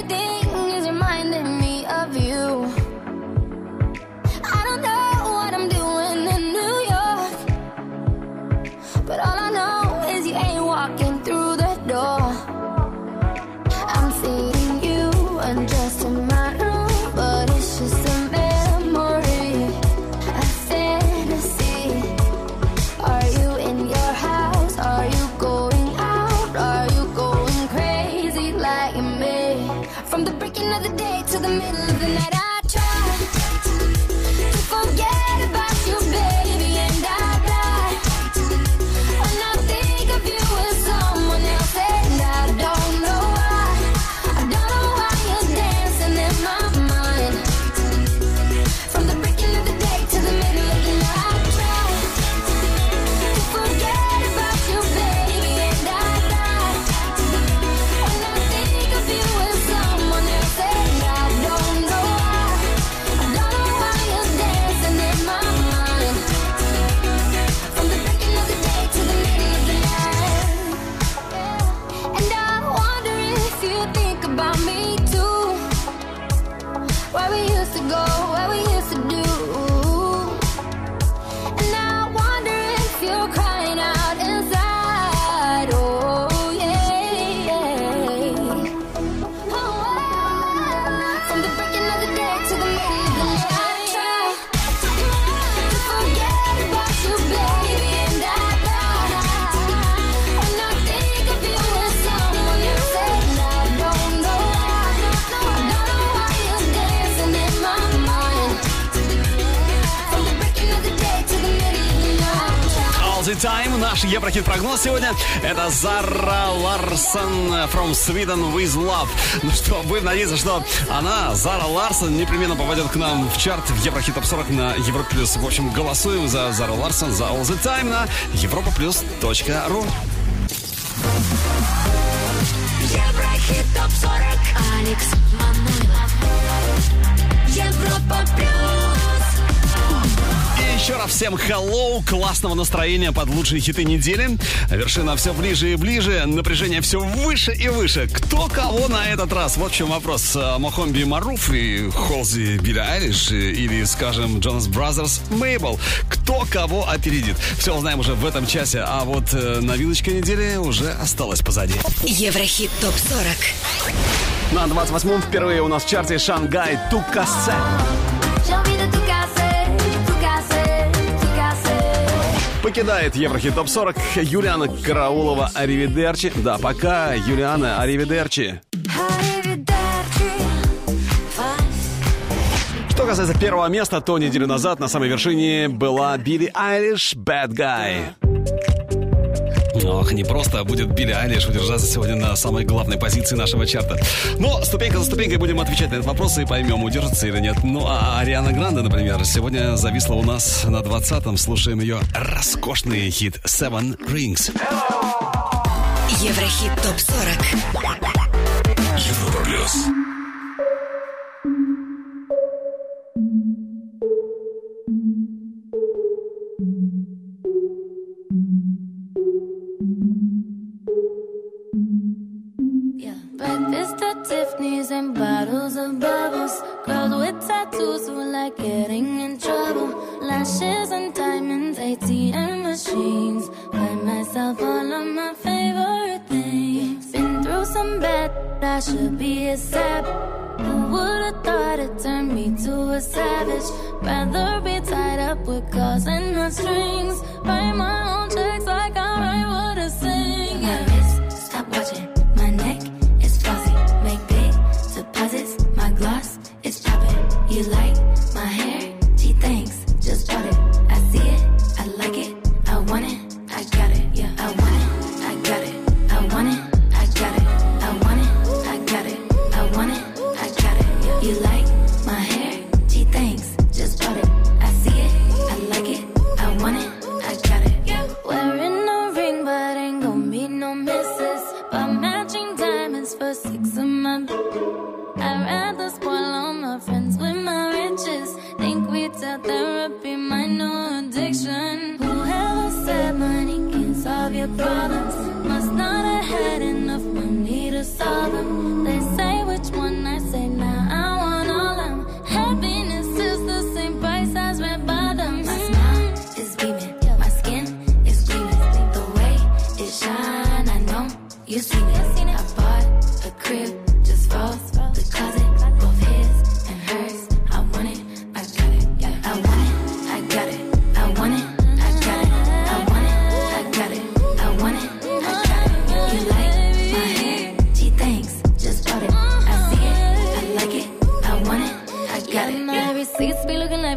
everything is reminding me of you. I don't know what I'm doing in New York, but all I know is you ain't walking through the door. I'm seeing you undressed in my room, but it's just a memory, a fantasy. Are you in your house? Are you going out? Are you going crazy like me? From the breaking of the day to the middle of the night, I try to forget about you, baby, and I die when I think of you with someone else, and I don't know why. I don't know why you're dancing in my mind. From the breaking of the day to the middle of the night, I try to forget about you, baby, and I die when I think of you with someone else, and I don't know why. I don't know why you're dancing in my mind. From the breaking of the day to the middle of the night. And I wonder if you think about me too. Where we used to go, where we used to do. And I wonder if you're crying out inside. Oh yeah. From the breaking of the day to the middle of the night, I try to forget about you, baby, and I die when I think of you with someone else, and I don't know why. I don't know why you're dancing in my mind. From the breaking of the day to the middle of the night. All the time. Наш Еврохит-прогноз сегодня — это Зара Ларсон from Sweden with Love. Ну что, будем надеяться, что она, Зара Ларсон, непременно попадет к нам в чарт в Еврохит Топ 40 на Европа Плюс. В общем, голосуем за Зару Ларсон, за All the Time на europaplus.ru. Еврохит топ 40. Алекс Манойлов. Европа плюс. И еще раз всем hello, классного настроения под лучшие хиты недели. Вершина все ближе и ближе, напряжение все выше и выше. Кто кого на этот раз? Вот в чем вопрос. Мохомби Маруф и Холзи Билли Айлиш или, скажем, Джонас Бразерс Мейбл. Кто кого опередит? Все узнаем уже в этом часе. А вот новиночка недели уже осталась позади. Еврохит топ 40. На 28-м впервые у нас в чарте Шангай Тукасе. Покидает Еврохит Топ 40 Юлиана Караулова «Аривидерчи». Да, пока, Юлиана, «Аривидерчи». Что касается первого места, то неделю назад на самой вершине была Билли Айлиш «Bad Guy». Ох, не просто будет Билли Айлиш удержаться сегодня на самой главной позиции нашего чарта. Но ступенька за ступенькой будем отвечать на этот вопрос и поймем, удержится или нет. Ну, а Ариана Гранде, например, сегодня зависла у нас на 20-м. Слушаем ее роскошный хит «Seven Rings». Еврохит топ 40. Европа плюс. Breakfast at Tiffany's and bottles of bubbles. Girls with tattoos who like getting in trouble. Lashes and diamonds, ATM machines. Buy myself all of my favorite things. Been through some bad, I should be a sap. Who would've thought it turned me to a savage? Rather be tied up with calls and not strings. Write my own checks like I write what I sing. My wrist, stop watching. My neck is flossy. Make big deposits. My gloss is popping. You like my hair? Gee, thanks. Just bought it. I see it. I like it. I want it. I got it. Yeah, I want it. I got it. I want it. I got it. I want it. I got it. I want it. I got it. Yeah. You like my hair? Gee, thanks. Just bought it. I see it. I like it. I want it. I got it. Yeah. Wearing no ring, but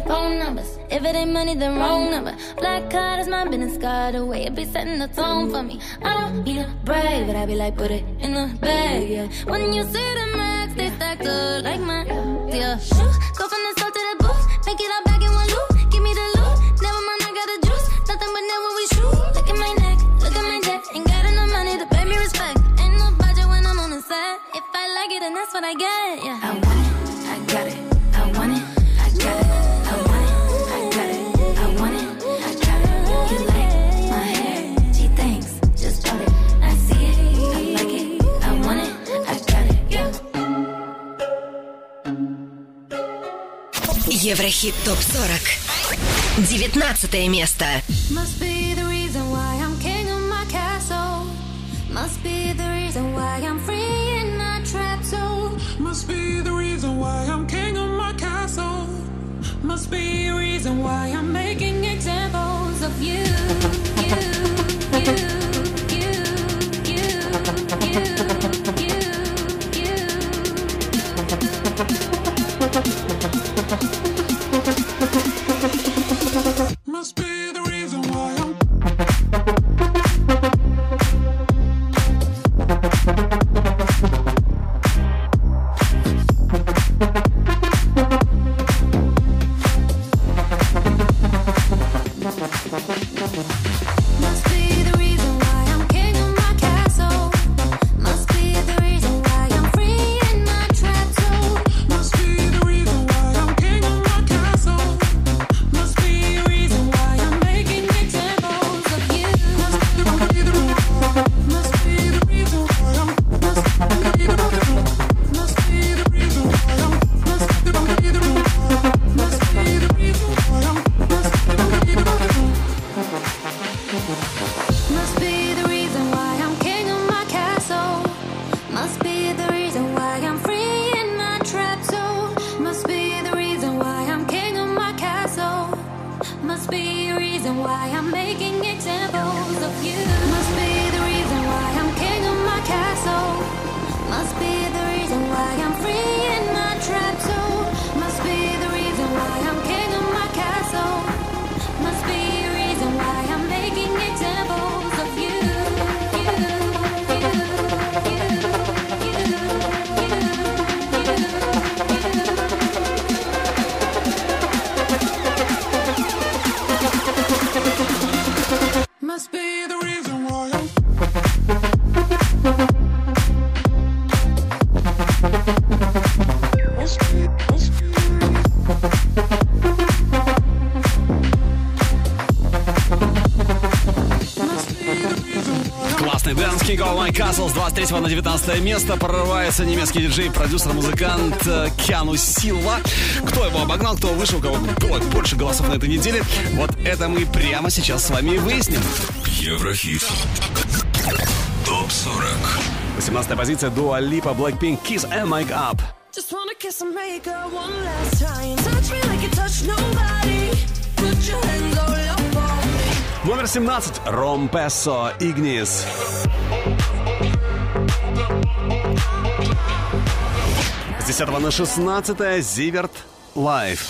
their phone numbers. If it ain't money, then wrong number. Black card is my business card. The way it be setting the tone for me. I don't need a brag, but I be like, put it in the bag, yeah. When you see the max, they stacked up like mine, yeah. Go from the south to the booth, make it all back in one loop. Give me the loot, never mind, I got the juice. Nothing but never we shoot. Look at my neck, look at my neck. Ain't got enough money to pay me respect. Ain't no budget when I'm on the set. If I like it, then that's what I get, yeah. I want it, I got it. I want it, I got it. I want it, I got it. I want it, I got it. You like my hair? She thinks, just bought it. I see it, I like it. I want it, I got it, yeah. Еврохит ТОП-40. 19 место. Must be the reason why I'm king of my castle. Must be the reason why I'm free in my trap zone. Must be the reason why I'm king of my castle. Must be a reason why I'm making examples of you, you, you, you, you, you, you, Must be the reason why I'm Must be the reason why I'm king of my castle. Must be the reason why I'm free in my trap zone. Must be the reason why I'm king of my castle. Must be a reason why I'm making examples of you. Must be the reason why I'm Must be the reason why I'm Must be the reason why I'm Must be the reason why I'm Must be the reason why I'm Must be the reason why I'm king of my castle. Must be the reason why I'm free in my trap zone. Must be the reason why I'm king of my castle. Must be a reason why I'm making examples of you. Must be the reason why I'm king of my castle. Must be the reason why I'm free in my trap zone. Must be the reason why I'm king of my castle. Must be a reason why I'm making examples of you. Must be the reason why I'm Классный дэнс King of My Castle с 23 на 19 место. Прорывается немецкий диджей, продюсер, музыкант Киану Силва. Кто его обогнал, кто вышел, у кого было больше голосов на этой неделе, вот это мы прямо сейчас с вами и выясним. Еврохит ТОП-40. 18-я позиция Дуа Липа, Blackpink, Kiss and Make Up. Just wanna kiss and make up one last time. Touch me like you touch nobody. Put your hands all up on me. Номер 17. Ром Пессо, Игнис. С 10 на 16 Зиверт, Life.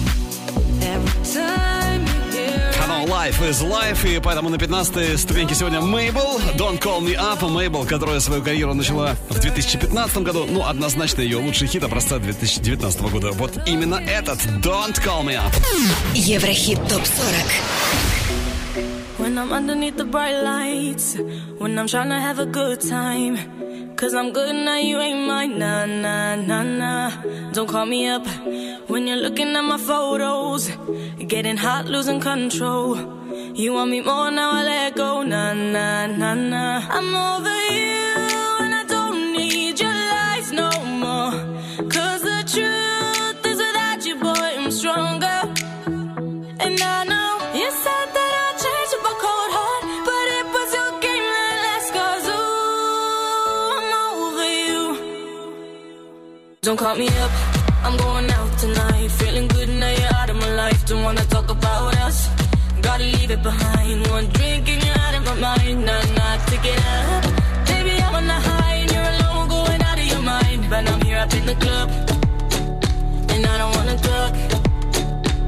Канал Life is Life, и поэтому на 15-й ступеньке сегодня Мейбл, Don't Call Me Up. Мейбл, которая свою карьеру начала в 2015 году, ну, однозначно ее лучший хит образца 2019 года. Вот именно этот Don't Call Me Up. Еврохит ТОП-40. When I'm underneath the bright lights, when I'm trying to have a good time, 'cause I'm good now, you ain't mine, nah, nah, nah, nah. Don't call me up when you're looking at my photos, getting hot, losing control. You want me more, now I let go, nah, nah, nah, nah. I'm over you and I don't need your lies no more, 'cause the truth is without you, boy, I'm stronger. And I know you said that I'd change with a cold heart, but it was your game that last, 'cause ooh, I'm over you. Don't call me up, I'm going out tonight, feeling good now you're out of my life. Don't wanna talk about us, gotta leave it behind. One drink and you're out of my mind, nah, nah, take it up. Baby, I'm on the high and you're alone, going out of your mind. But I'm here up in the club, and I don't wanna talk.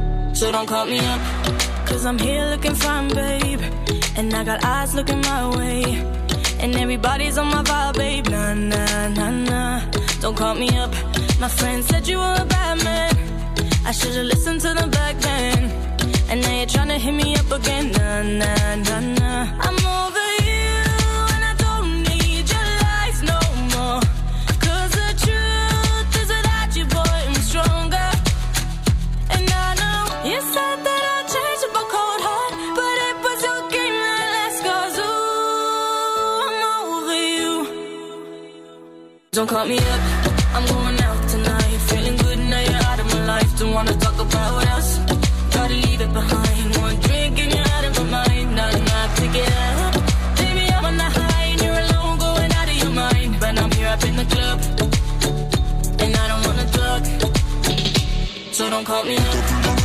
so don't call me up. Cause I'm here looking fine, babe, and I got eyes looking my way, and everybody's on my vibe, babe. Nah, nah, nah, nah, don't call me up. My friend said you were a bad man, I should've listened to them back then, and now you're tryna hit me up again. Nah, nah, nah, nah, I'm over you, and I don't need your lies no more. Cause the truth is without you, boy, I'm stronger. And I know you said that I'd change with my cold heart, but it was your game that last. Cause ooh, I'm over you. Don't call me up, I'm going out tonight. Feeling good now you're out of my life. Don't wanna talk about us, gotta leave it behind. One drink and you're out of my mind. Not enough to get up. Baby, I'm on the high and you're alone, going out of your mind. But I'm here up in the club, and I don't wanna talk, so don't call me up. Don't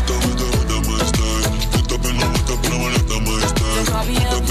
call me up.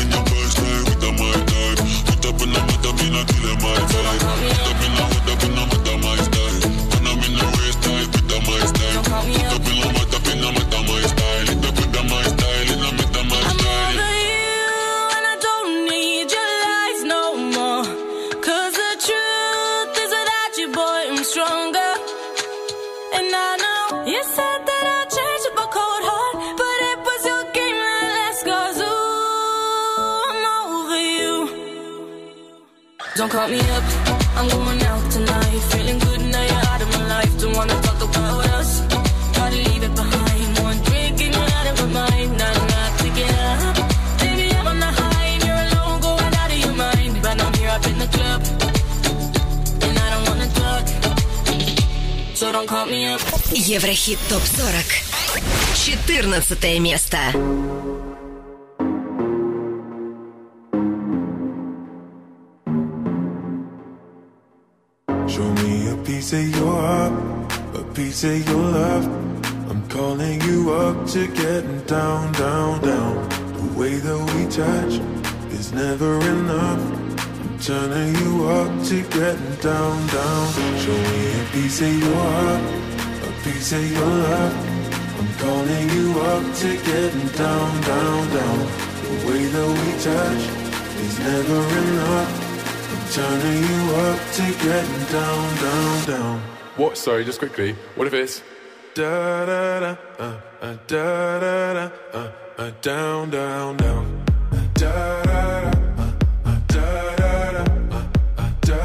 Don't call me up, I'm going out tonight. Feeling good now you're out of my life. Don't wanna talk about us, gotta leave it behind. One drink and you're out of my mind. Not enough to get up. Baby, I'm on the high and you're alone, going out of your mind. But I'm here up in the club, and I don't wanna talk, so don't call me up. Еврохит ТОП-40. 14 место. Show me a piece of your heart, a piece of your love. I'm calling you up to getting down, down, down. The way that we touch is never enough. I'm turning you up to getting down, down. Show me a piece of your heart, a piece of your love. I'm calling you up to getting down, down, down. The way that we touch is never enough. Turning you up to getting down, down, down. What? Sorry, just quickly. What if it's da da da da da da down, down, down. Da da da da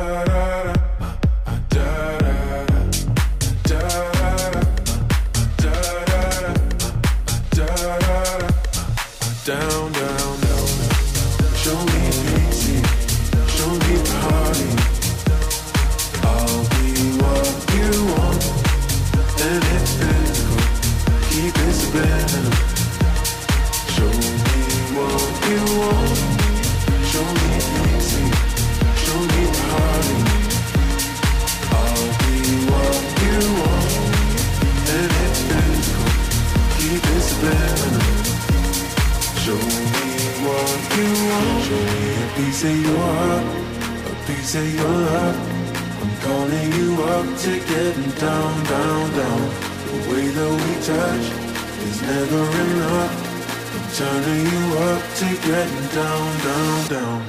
down, down, down. Show me easy. Show me party. I'll be what you want, and it's physical. Keep it spinning. Show me what you want. Show me easy. Show me party. I'll be what you want, and it's physical. Keep it spinning. Show me what you want. Show me a piece of your heart, a piece of your love. I'm calling you up to getting down, down, down. The way that we touch is never enough. I'm turning you up to getting down, down, down.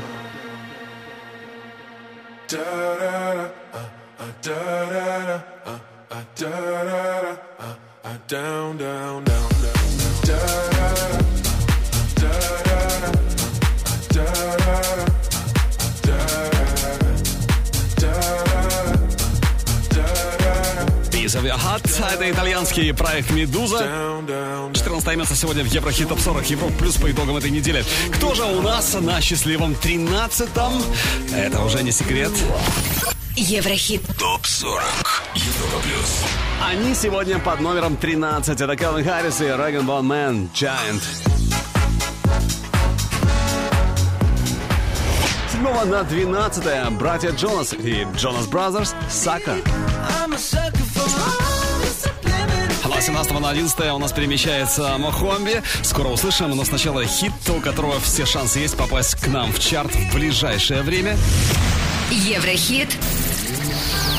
Da da da da da da down, down, down, da da da. Piece of Your Heart. Это итальянский проект «Медуза». 14 место сегодня в Еврохит ТОП-40 Европа Плюс по итогам этой недели. Кто же у нас на счастливом 13-м? Это уже не секрет. Еврохит ТОП-40 Европа Плюс. Они сегодня под номером 13. Это Кэлвин Харрис и Rag & Bone Man Giant. 7 на 12 братья Джонас и Джонас Бразерс «Сака». С 17 на 11 у нас перемещается Мохомби. Скоро услышим, но сначала хит, у которого все шансы есть попасть к нам в чарт в ближайшее время. Еврохит.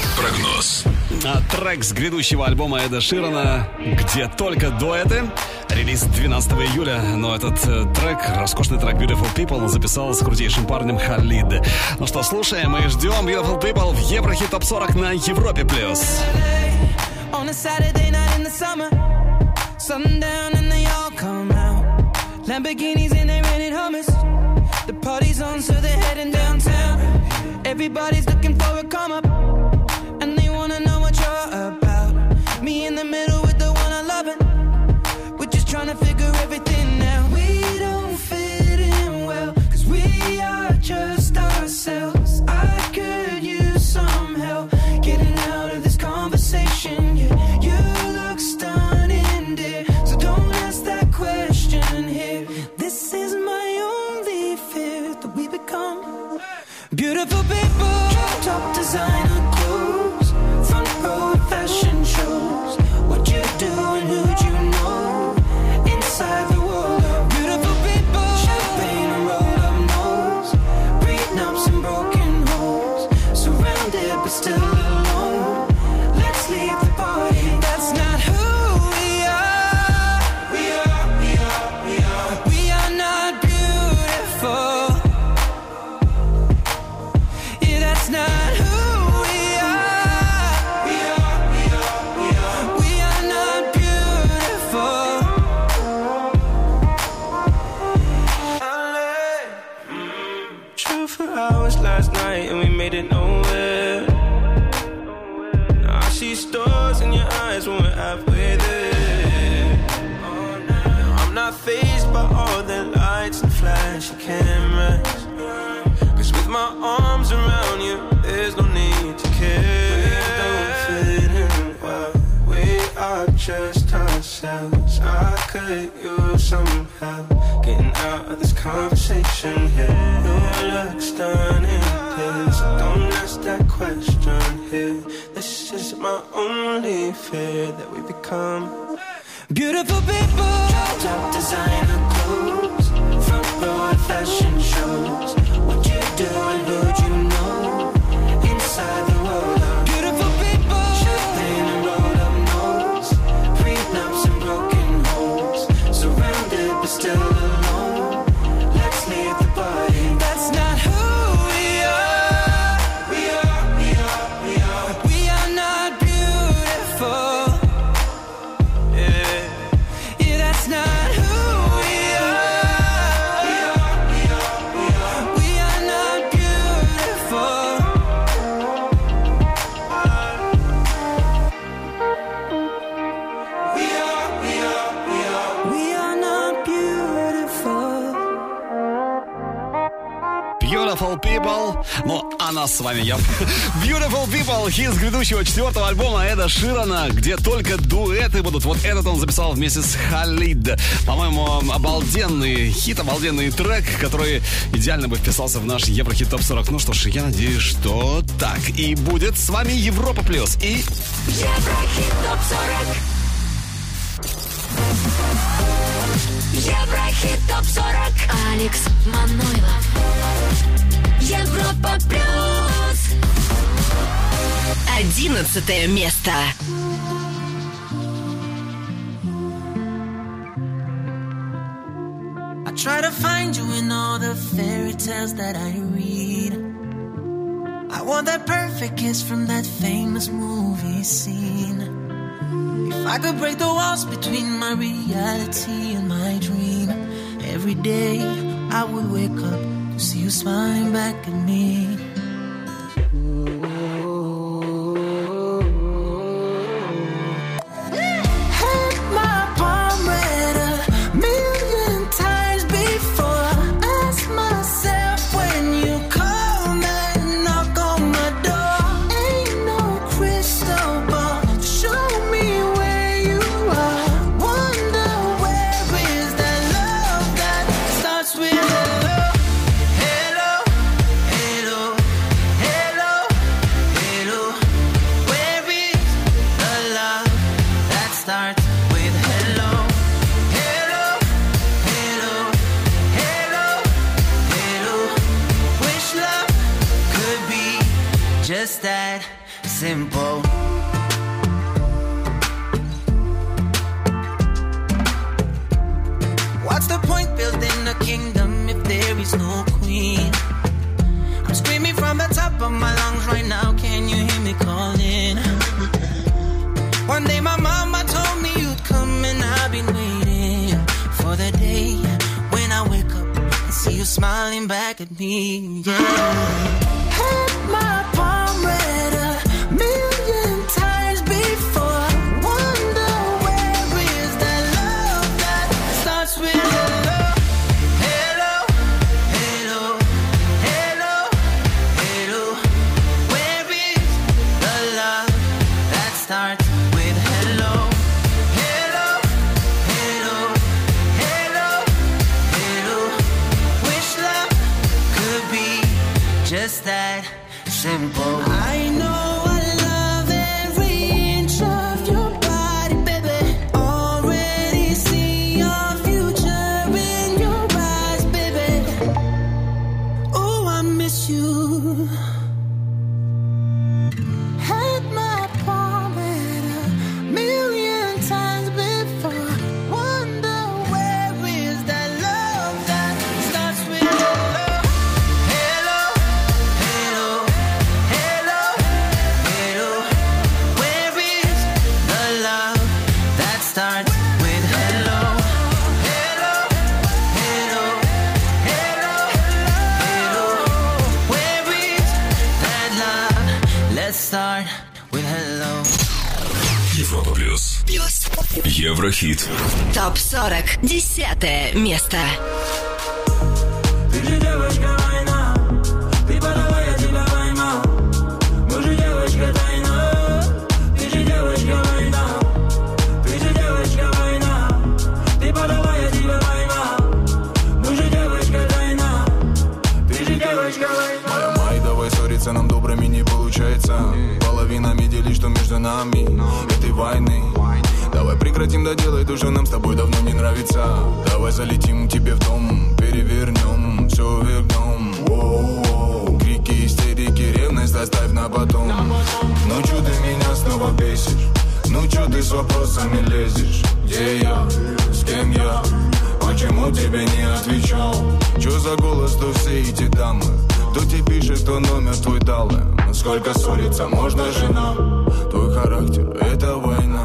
Прогноз. Трек с грядущего альбома Эда Ширана «Где только дуэты». Релиз 12 июля, но этот трек, роскошный трек Beautiful People, записал с крутейшим парнем Халид. Ну что, слушаем и ждем Beautiful People в Еврохит Топ 40 на Европе+. On a Saturday night in the summer, sundown and they all come out. Lamborghinis and they rented Hummers. The party's on, so they're heading downtown. Everybody's looking for a come up, and they wanna know what you're about. Me in the middle with the one I love it. We're just trying to figure everything out. We don't fit in well, 'cause we are just ourselves. I could use some help getting out of this conversation. Yeah, you look stunning, dear, so don't ask that question here. This is my only fear, that we become beautiful people. Top designer clothes, front row fashion shows. What you do and who'd you know? Inside the world of beautiful people. Champagne and rolled up nose, prenups and broken homes. Surrounded but still alone. Let's leave the party. That's not who we are. We are not beautiful. Yeah, that's not who we are. We are not beautiful. Drove for hours last night and we made it nowhere. Now I see stars in your eyes when we're halfway there. Now I'm not fazed by all the lights and flashy cameras, 'cause with my arms around you, there's no need to care. We don't fit in well, we are just ourselves. I could use some help getting out of this conversation here. You look stunning, please, so don't ask that question here. This is my only fear, that we become beautiful people. Top designer clothes, front row fashion shows. What you do and who'd you know? Inside the world of beautiful people. Champagne and rolled up nose, prenups and broken homes. Surrounded but still alone. Let's leave the party. That's not who we are. We are not beautiful. Yeah, that's not who we are. We are not beautiful. We are not beautiful. Beautiful People. Ну, а нас с вами я. Beautiful People, хит с грядущего 4-го альбома Эда Ширана, где только дуэты будут. Вот этот он записал вместе с Халид. По-моему, обалденный хит, обалденный трек, который идеально бы вписался в наш Еврохит Топ 40. Ну что ж, я надеюсь, что так и будет. С вами Европа Плюс и Еврохит Топ 40. Еврохит Топ 40. Алекс Манойлов. Европа Плюс. 11 место. I try to find you in all the fairy tales that I read. I want that perfect kiss from that famous movie scene. If I could break the walls between my reality and my dream, every day I would wake up to see you smiling back at me. Had my palm read a million times before. Ask myself when you call that knock on my door. Ain't no crystal ball to show me where you are. Wonder where is that love that starts with hello. Hello, hello, hello, hello. Where is the love that starts with hello? Hello, hello, hello, hello. Wish love could be just that simple. smiling back at me, yeah. Had my palm read a million times before. Wonder where is that love that starts with hello, hello, hello, hello, hello. Where is the love that starts with hello, hello, hello, hello, hello. Wish love could be just that simple. I know I love every inch of your body, baby. Already see your future in your eyes, baby. Oh, I miss you. Had my palm read a million times before. Wonder where is that love that starts with hello, hello, hello, hello, hello. Where is the love that starts with hello, hello, hello, hello, hello. Where is that love? Let's start with hello. Европа плюс. Еврохит. ТОП 40. 10 место. Ты же девочка война, ты подала, я тебя поймал. Мы же девочка тайна, ты же девочка война, ты же девочка война, ты подала, я тебя поймал. Мы же девочка тайна, ты же девочка война. Май, давай ссориться, нам добрыми не получается. Половинами делить, что между нами этой войны. Давай прекратим доделать то, что нам с тобой давно не нравится. Давай залетим к тебе в дом, перевернем, все вернем. Воу-воу. Крики, истерики, ревность оставь на потом. Ну чё ты меня снова бесишь? Ну чё ты с вопросами лезешь? Где я? С кем я? Почему тебе не отвечал? Чё за голос, то все эти дамы? Кто тебе пишет, кто номер твой дал им? Сколько ссориться можно, жена? Твой характер — это война.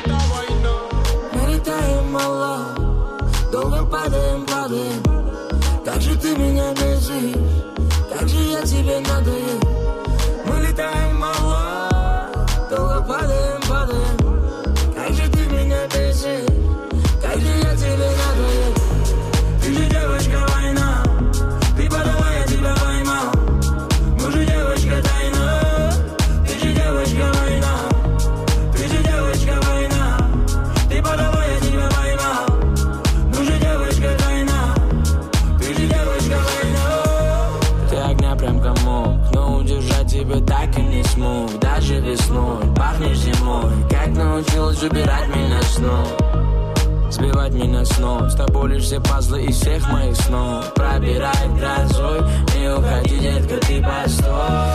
Мы летаем мало, долго падаем, падаем. Как же ты меня бесишь? Как же я тебе надоел? Мы летаем мало, долго падаем, падаем. Как же ты меня бесишь? Как же я тебе надоел? Ты же девочка война, ты подала, я тебя поймал. Мы же девочка тайна, ты же девочка война, ты же девочка война, ты подала, я тебя поймал. Мы же девочка тайна, ты же девочка война. Ты огня прям комок, но удержать тебя так и не смог. Даже весной пахнешь зимой, как научилась убирать меня снова, сбивать меня с ног. С тобой лишь все пазлы из всех моих снов. Пробирает грозой, не уходи, детка, ты постой.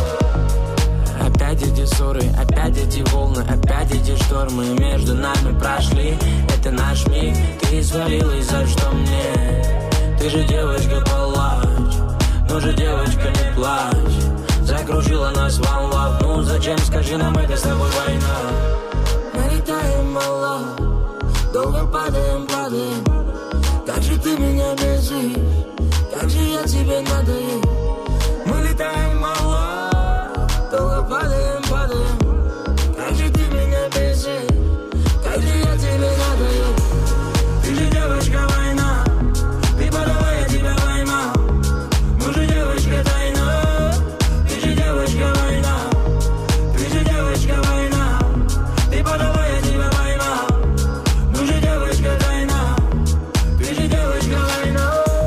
Опять эти ссоры, опять эти волны, опять эти штормы между нами прошли. Это наш миг, ты свалилась, за что мне? Ты же девочка, палач, ну же девочка, не плачь. Закружила нас волна, ну зачем, скажи нам, это с тобой война. Мы летаем мало, долго падаем, падаем. Как же ты меня бесишь? Как же я тебе надоел? Мы летаем мало, долго падаем, падаем. Как же ты меня бесишь? Как же я тебе надоел? Ты же девочка война, ты подала, я тебя поймал. Мы же девочка тайна, ты же девочка война, ты же девочка война, ты подала, я тебя поймал. Мы же девочка тайна, ты же девочка война.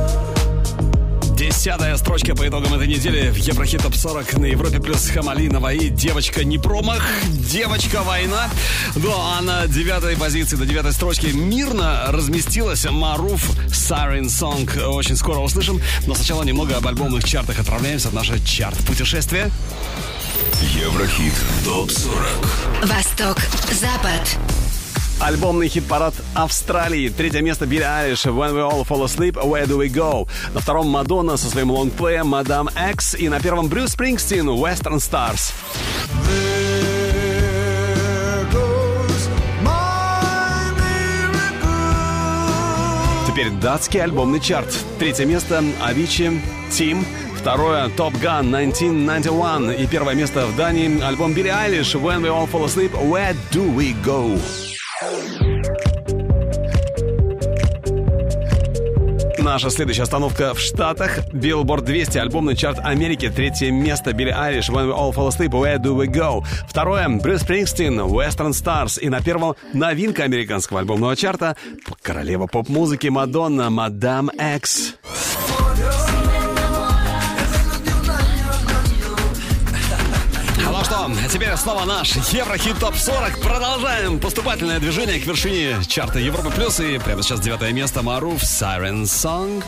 10-я строчка по итогам этой недели в Еврохит ТОП 40 на Европе плюс Хамалинова и девочка не промах, девочка война. Ну а на 9-й позиции, до 9-й строчки мирно разместилась Маруф Siren Song. Очень скоро услышим, но сначала немного об альбомных чартах. Отправляемся в наше чарт-путешествие. Еврохит ТОП 40. Восток, Запад. Альбомный хит-парад Австралии. 3-е место Билли Айлиш When We All Fall Asleep, Where Do We Go. На 2-м Мадонна со своим лонгплеем Madame X. И на 1-м Брюс Спрингстин Western Stars. теперь датский альбомный чарт. 3 место Avicii, Team. 2 Top Gun 1991. И 1 место в Дании альбом Billie Eilish When We All Fall Asleep, Where Do We Go? Наша следующая остановка в Штатах. Billboard 200, альбомный чарт Америки. 3 место Billie Eilish When We All Fall Asleep, Where Do We Go? 2 Брюс Спрингстин, Western Stars. И на 1 новинка американского альбомного чарта королева поп-музыки Мадонна, Madame X. Ну что, а теперь снова наш Еврохит ТОП-40. Продолжаем поступательное движение к вершине чарта Европы+. И прямо сейчас 9 место Марув, Siren Song.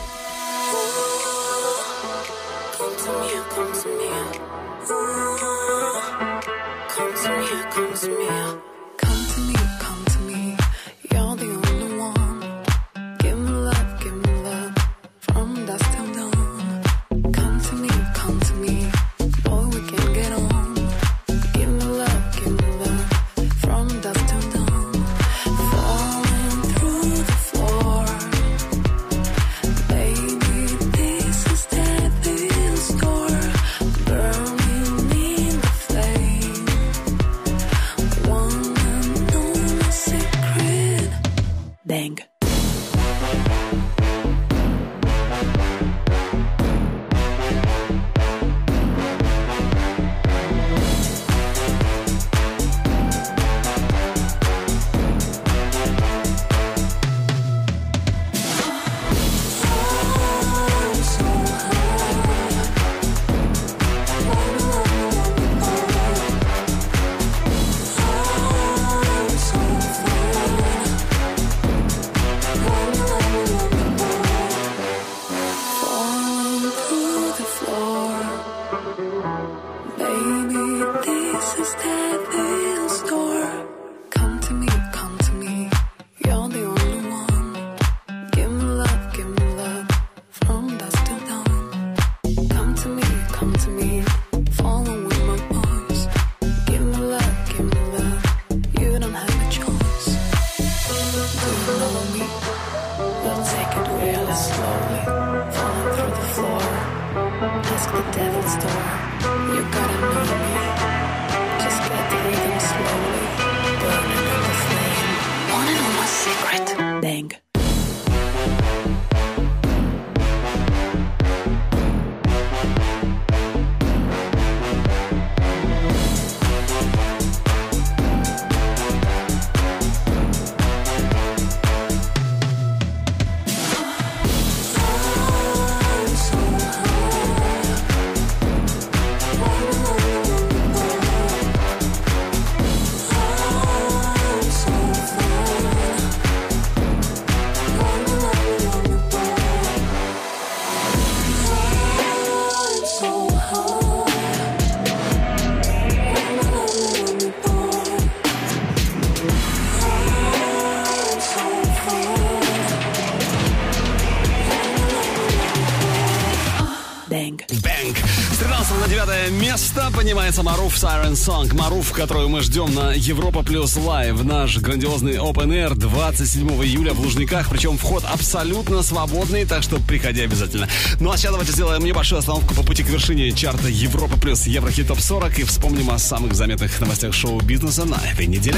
Поднимается Марув, Siren Song. Марув, которую мы ждем на Европа Плюс Лайв. Наш грандиозный Open Air 27 июля в Лужниках. Причем вход абсолютно свободный, так что приходи обязательно. Ну а сейчас давайте сделаем небольшую остановку по пути к вершине чарта Европа Плюс Еврохит ТОП-40 и вспомним о самых заметных новостях шоу-бизнеса на этой неделе.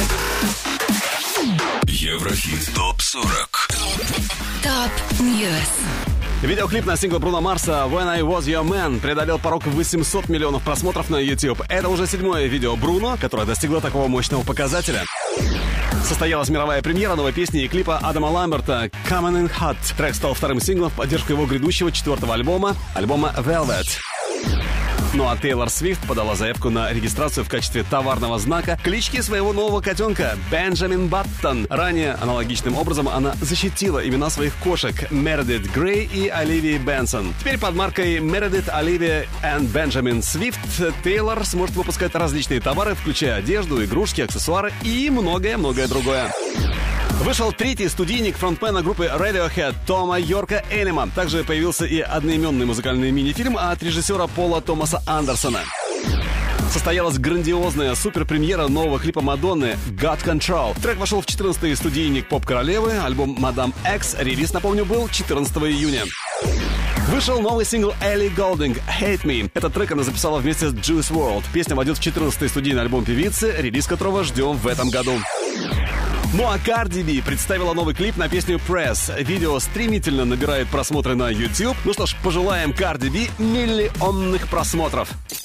Еврохит ТОП-40. ТОП-Ньюс. Видеоклип на сингл Бруно Марса «When I Was Your Man» преодолел порог 800 миллионов просмотров на YouTube. Это уже 7-е видео Бруно, которое достигло такого мощного показателя. Состоялась мировая премьера новой песни и клипа Адама Ламберта «Coming in Hot». Трек стал вторым синглом в поддержку его грядущего 4-го альбома Velvet. Ну а Тейлор Свифт подала заявку на регистрацию в качестве товарного знака клички своего нового котенка Бенджамин Баттон. Ранее аналогичным образом она защитила имена своих кошек Мередит Грей и Оливии Бенсон. Теперь под маркой Мередит, Оливия и Бенджамин Свифт Тейлор сможет выпускать различные товары, включая одежду, игрушки, аксессуары и многое-многое другое. Вышел 3-й студийник фронтмена группы Radiohead Тома Йорка Элима. Также появился и одноименный музыкальный мини-фильм от режиссера Пола Томаса Андерсона. состоялась грандиозная суперпремьера нового клипа Мадонны «God Control». Трек вошел в 14-й студийник поп-королевы. Альбом «Мадам X». Релиз, напомню, был 14 июня. Вышел новый сингл Элли Голдинг «Hate Me». Этот трек она записала вместе с Juice WRLD. Песня войдет в 14-й студийный альбом певицы, релиз которого ждем в этом году. Ну а Cardi B представила новый клип на песню Press. Видео стремительно набирает просмотры на YouTube. Ну что ж, пожелаем Cardi B миллионных просмотров.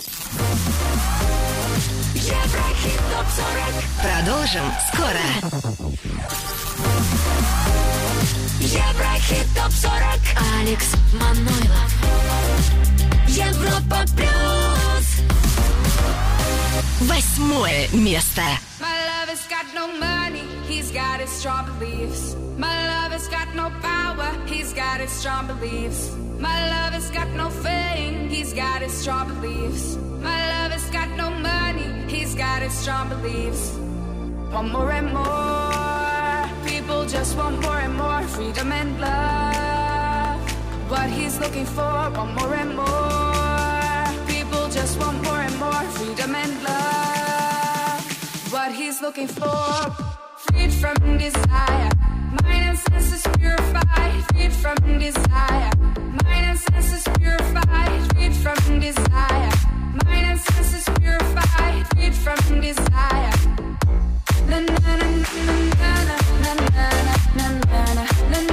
Еврохит ТОП-40. Продолжим скоро. Еврохит ТОП-40. Алекс Манойлов. Европа плюс. 8 место. My lover's got no money, he's got his strong beliefs. My lover's got no power, he's got his strong beliefs. My lover's got no fame, he's got his strong beliefs. My lover's got no money, he's got his strong beliefs. Want more and more, people just want more and more freedom and love. What he's looking for, want more and more, people just want more and more freedom and love. What he's looking for, freed from desire, mind and senses purified, freed from desire, mind and senses purified, freed from desire, mind and senses purified, freed from desire. Na na na na na na na na na na.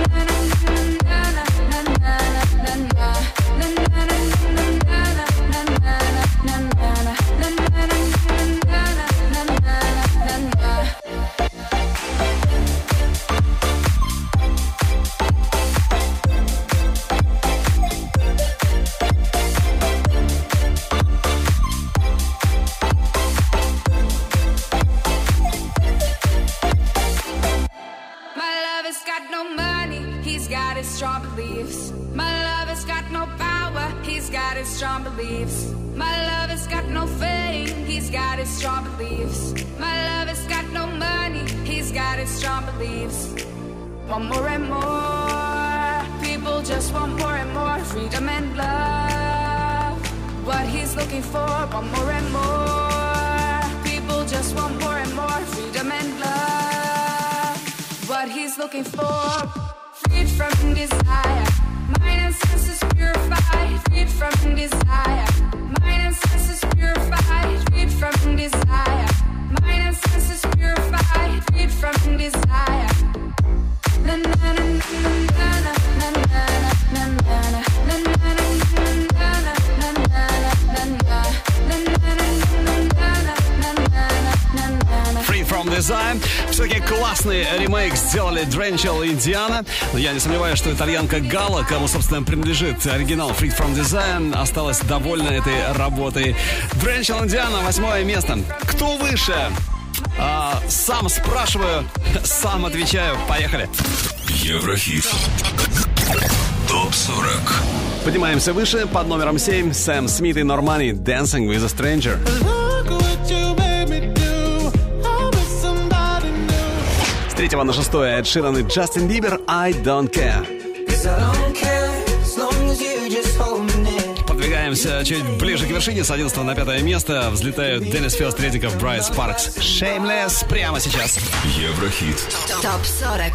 Strong beliefs. My lover's got no power, he's got his strong beliefs. My lover's got no fame, he's got his strong beliefs. My lover's got no money, he's got his strong beliefs. Want more and more, people just want more and more freedom and love. What he's looking for, want more and more, people just want more and more freedom and love. What he's looking for, freed from desire, mind and senses purified, freed from desire, mind and senses purified, freed from desire, mind and senses purified, freed from desire. Na na na na na na na na na Free from Desire. Все-таки классный ремейк сделали Drenchell и Indiana. Но я не сомневаюсь, что итальянка Гала, кому, собственно, принадлежит оригинал Free from Desire, осталась довольна этой работой. Drenchell и Indiana, 8 место. Кто выше? Сам спрашиваю, сам отвечаю. Поехали. Еврохит. ТОП-40. Поднимаемся выше. Под номером 7 Сэм Смит и Нормани Dancing with a Stranger. С 3 на 6 Эд Ширан и Джастин Бибер I Don't Care. Подвигаемся чуть ближе к вершине. С 11 на 5 место взлетают Деннис Филд, Редиков, Брайс Паркс. Shameless прямо сейчас. Еврохит. ТОП-40.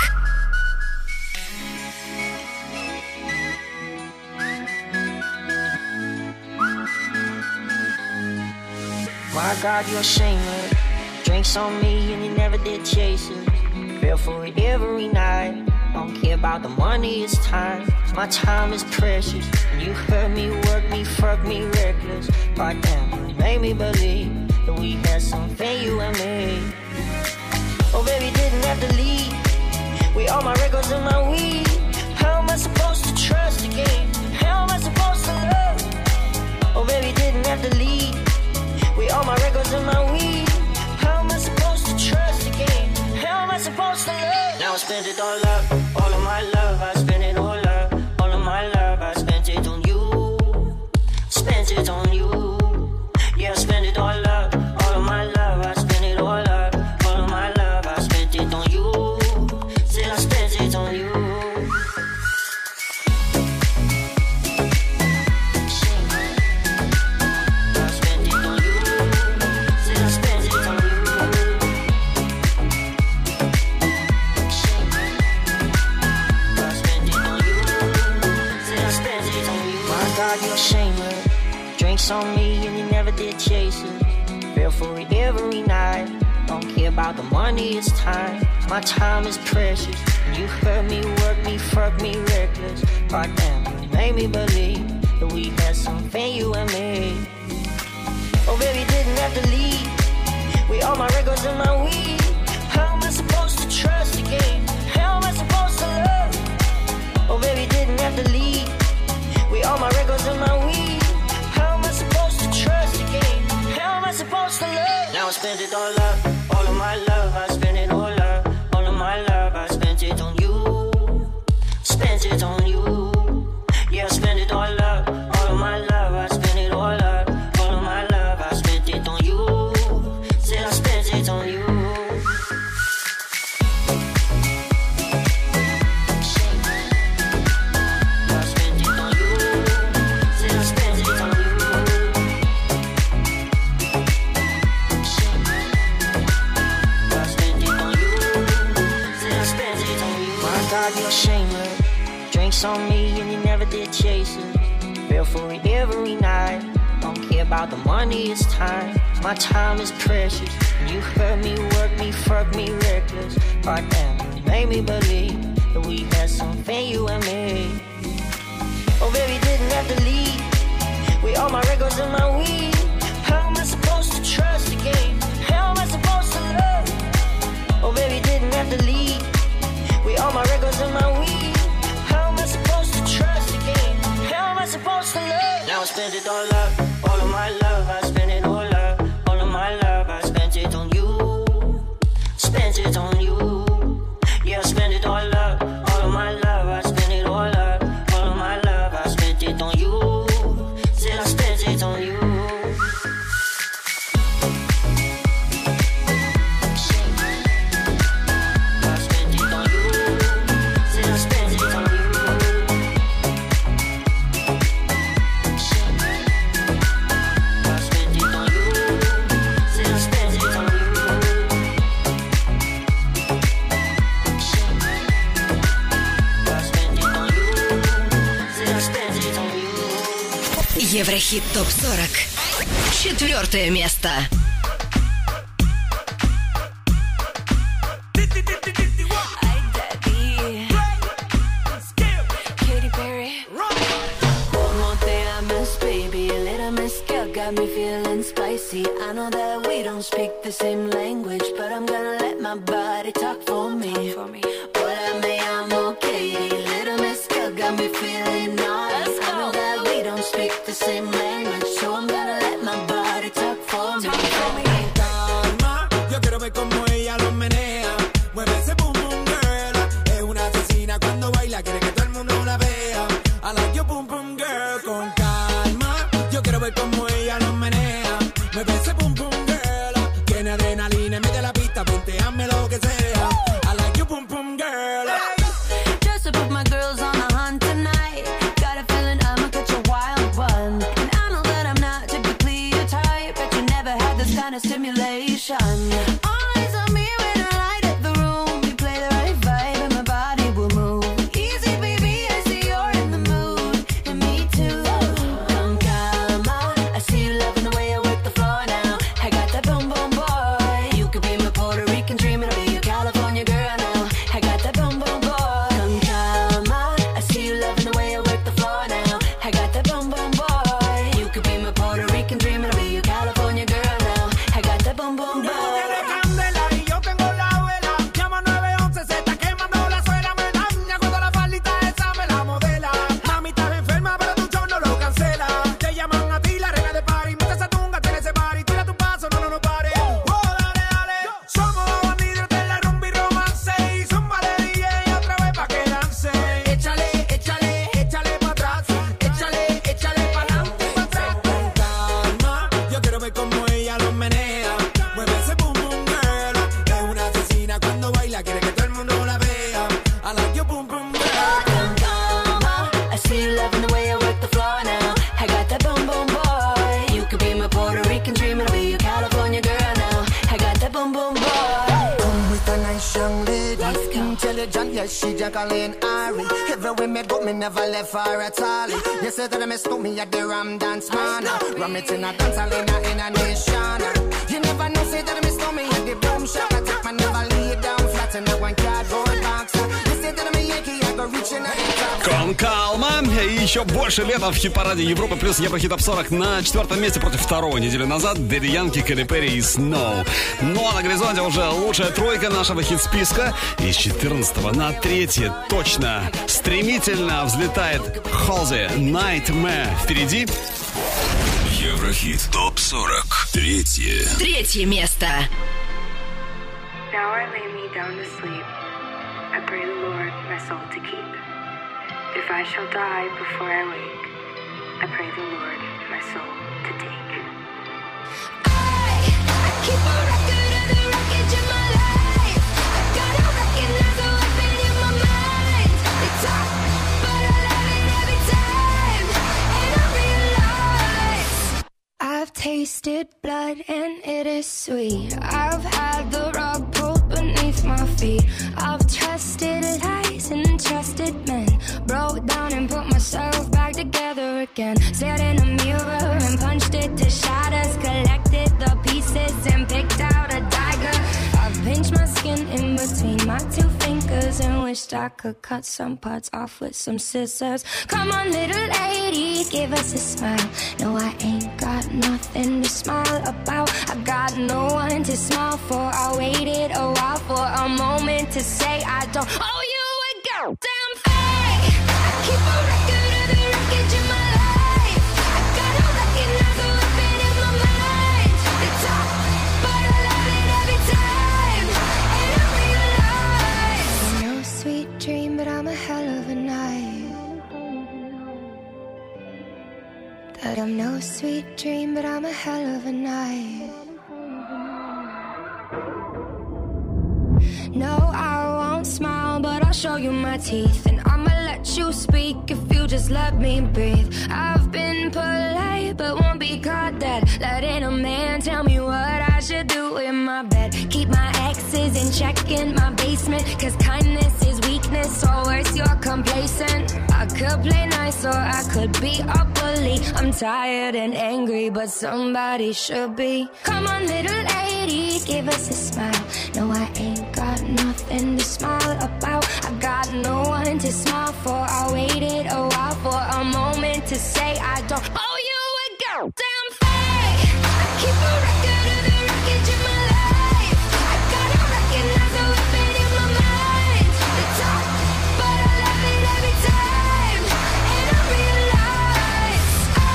My God, you're shameless. Drinks on me and you never did chase it. Feel for it every night. Don't care about the money, it's time. My time is precious. You hurt me, work me, fuck me reckless. God damn, you made me believe that we had something, you and me. Oh baby, didn't have to leave. With all my records and my weed. How am I supposed to trust again? How am I supposed to love? Oh baby, didn't have to leave. With all my records and my weed. How am I supposed to trust again? How am I supposed to love? Now I spent it all up, all of my love. I spent it all up, all of my love. I spent it on you, spent it on you. Yeah, I spent it all up, all of my love. I spent it all up, all of my love. I spent it on you, still I spent it on you. I spent it on you. Drinks on me and you never did chase it. Feel for it every night. Don't care about the money, it's time. My time is precious. You hurt me, work me, fuck me, reckless. Goddamn, you made me believe that we had something, you and me. Oh, baby, didn't have to leave. With all my records and my weed. How am I supposed to trust again? How am I supposed to love? Oh, baby, didn't have to leave. With all my records and my weed. How am I supposed to trust again? How am I supposed to love? Now I spent it all up, all of my love. I spent it all up, all of my love. I spent it on you, spent it on you. Yeah, I spent it all up, all of my love. I spent it all up, all of my love. I spent it on you, said I spent it on you. You're shameless. Drinks on me and you never did chase it. Feel for it every night. Don't care about the money, it's time. My time is precious. You hurt me, work me, fuck me, reckless. Goddamn, you made me believe that we had something, you and me. Oh, baby, didn't have to leave. With all my records and my weed. How am I supposed to trust again? How am I supposed to love? Oh, baby, didn't have to leave. With all my records and my weed. How am I supposed to trust again? How am I supposed to love? Now I spent it all up, all of my love. I spent it all up, all of my love. I spent it on you, spent it on you. Yeah, I spent it all up, all of my love. I spent it all up, all of my love. I spent it on you, said I spent it on you. Еврохит ТОП-40. 4 место. Got me feeling spicy. I know that we don't speak the same language, but I'm gonna let my body talk for me. Hola, me llamo Katie. Little Miss Girl got me feeling naughty. I know that we don't speak the same language, so I'm gonna let my body talk for me. Calma, yo quiero ver cómo ella lo menea. Mueve ese boom boom girl. Es una asesina cuando baila, quiere que todo el mundo la vea. I like your boom boom girl. Con calma, yo quiero ver cómo ella lo menea. Mueve ese boom boom girl. Tiene adrenalina en medio de la pista, ponteame lo que sea. I like your boom boom girl. Just to put my girls on the hunt tonight. Got a feeling I'ma catch a wild one. And I know that I'm not typically your type, but you never had this kind of stimulation. Eyes on me when I light up the room. You play the right vibe and my body will move. Easy, baby, I see you're in the mood. And me too. Con calma, I see you loving the way I work the floor now. I got that boom boom boy. You could be my Puerto Rican dream, and I'll be your California girl now. I got that boom boom boy. Con calma, I see you loving the way I work the floor now. I got that boom boom boy. You could be my Puerto Rican dream, and I'll be your California girl now. I got that boom boom boy. Y yo tengo la vela. Llama 911, se está quemando la suela. Me daña cuando la faldita esa me la modela. Mami, estás enferma, pero tu show no lo cancela. Te llaman a ti, la reina de party. Mucha esa tunga, tiene ese party. Tira tu paso, no pare. Oh, dale, dale. Somos dos bandidos de la rumba y romance. Y zumba de DJ otra vez pa' que dance. Échale, échale, échale pa' atrás. Échale, échale pa' adelante y pa' atrás. Con calma, yo quiero ver cómo ella lo menea. Mueve ese boom boom girl. Es una asesina cuando baila, quiere que todo el mundo la vea. I like your boom boom girl. Con calma, I see you loving the way I work the floor now. I got that boom boom boy. You could be my Puerto Rican dream, and I'll be your California girl now. I got that boom boom boy. ¿Cómo están ahí nice young lady. Intelligent, yes, she Jacqueline Ari. Everywhere me go, me never left her at all. You said that I miss me at the Ram Dance Man. Ram it in a dance hall in a nation. You never know, say that I miss me at the Boom Shop. I take my never lay down flat in a one cardboard box. You said that I'm a Yankee, I go reaching out the top. Кон Калма и еще больше лета в хит-параде Европы плюс Еврохит Топ 40 на 4-м месте против второго неделю назад. Дэдди Янки, Кэти Перри и Snow. Ну а на горизонте уже лучшая тройка нашего хит-списка. Из 14 на 3 точно стремительно взлетает Halsey, Nightmare. Впереди Еврохит Топ 40. Третье место. Now I lay me down to sleep. I pray the Lord my soul to keep. If I shall die before I wake, I pray the Lord my soul to take. I keep a record of the wreckage of my life. I gotta recognize the weapon in my mind. They talk, but I love it every time. And I realize I've tasted blood and it is sweet. I've had the rug pulled beneath my feet. I've trusted lies and trusted men. Broke down and put myself back together again. Stared in a mirror and punched it to shatters. Collected the pieces and picked out a dagger. I've pinched my skin in between my two fingers and wished I could cut some parts off with some scissors. Come on, little lady, give us a smile. No, I ain't got nothing to smile about. I got no one to smile for. I waited a while for a moment to say I don't owe you a goddamn thing. I keep a record of the wreckage in my life. I gotta recognize the weapon in my mind. They talk, but I love it every time. And I realize no sweet dream, but I'm a hell of a night. That I'm no sweet dream, but I'm a hell of a night. No, I won't smile, but I'll show you my teeth. And I'ma let you speak if you just let me breathe. I've been polite, but won't be caught dead. Letting a man tell me what I should do in my bed. Keep my exes in check in my basement. Cause kindness is weakness, or worse, you're complacent. I could play nice or I could be a bully. I'm tired and angry, but somebody should be. Come on, little lady, give us a smile. No, I ain't got nothing to smile about. I got no one to smile for. I waited a while for a moment to say I don't owe you a goddamn thing. I keep a record of the wreckage in my life. I gotta recognize the weapon in my mind. They talk, but I love it every time. And I realize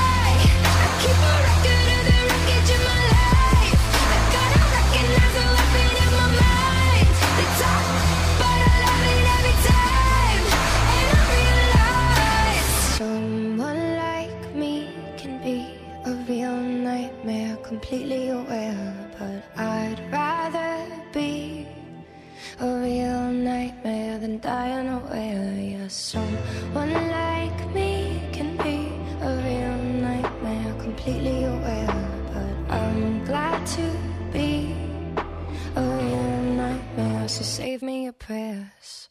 I keep a record of the wreckage in my life. I gotta recognize the weapon in my mind. They talk, but I love it every time. And I realize someone like me can be a real nightmare, completely aware. But I'd rather be a real nightmare than die unaware. Yeah, someone like me can be a real nightmare, completely aware. But I'm glad to be a real nightmare, so save me your prayers.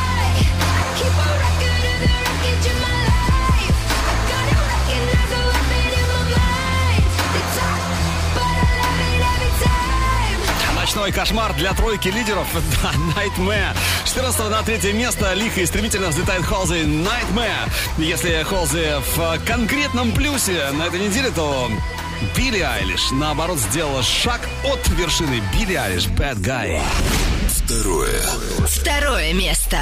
I keep a record of the wreckage in my life. I gotta recognize the weapon in my mind. They talk, but I love it every time. Ночной кошмар для тройки лидеров. Да, Nightmare. С 14 на 3 место лихо и стремительно взлетает Halsey, Nightmare. Если Halsey в конкретном плюсе на этой неделе, то Билли Айлиш, наоборот, сделала шаг от вершины. Билли Айлиш, Bad Guy. Второе место.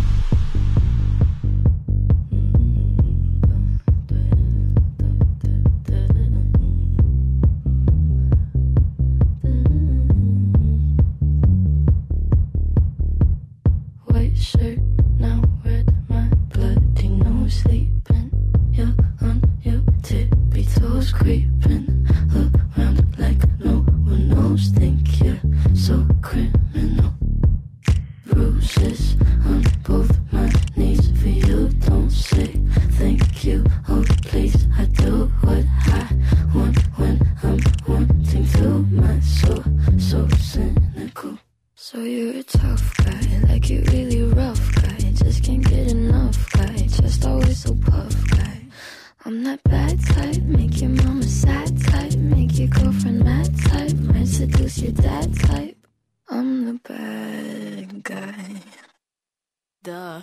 White shirt, now red, my bloody nose sleeping. You're on your tippy toes, creeping around like no one knows. Think you're so criminal. Bruises on both my knees for you. Don't say thank you. Oh please, I do what I want when I'm wanting to. My soul so cynical. So you're a tough guy, like you really rough guy. Just can't get enough guy, just always so puff guy. I'm that bad type, make your mama sad type, make your girlfriend mad type, might seduce your dad type. I'm the bad guy. Duh.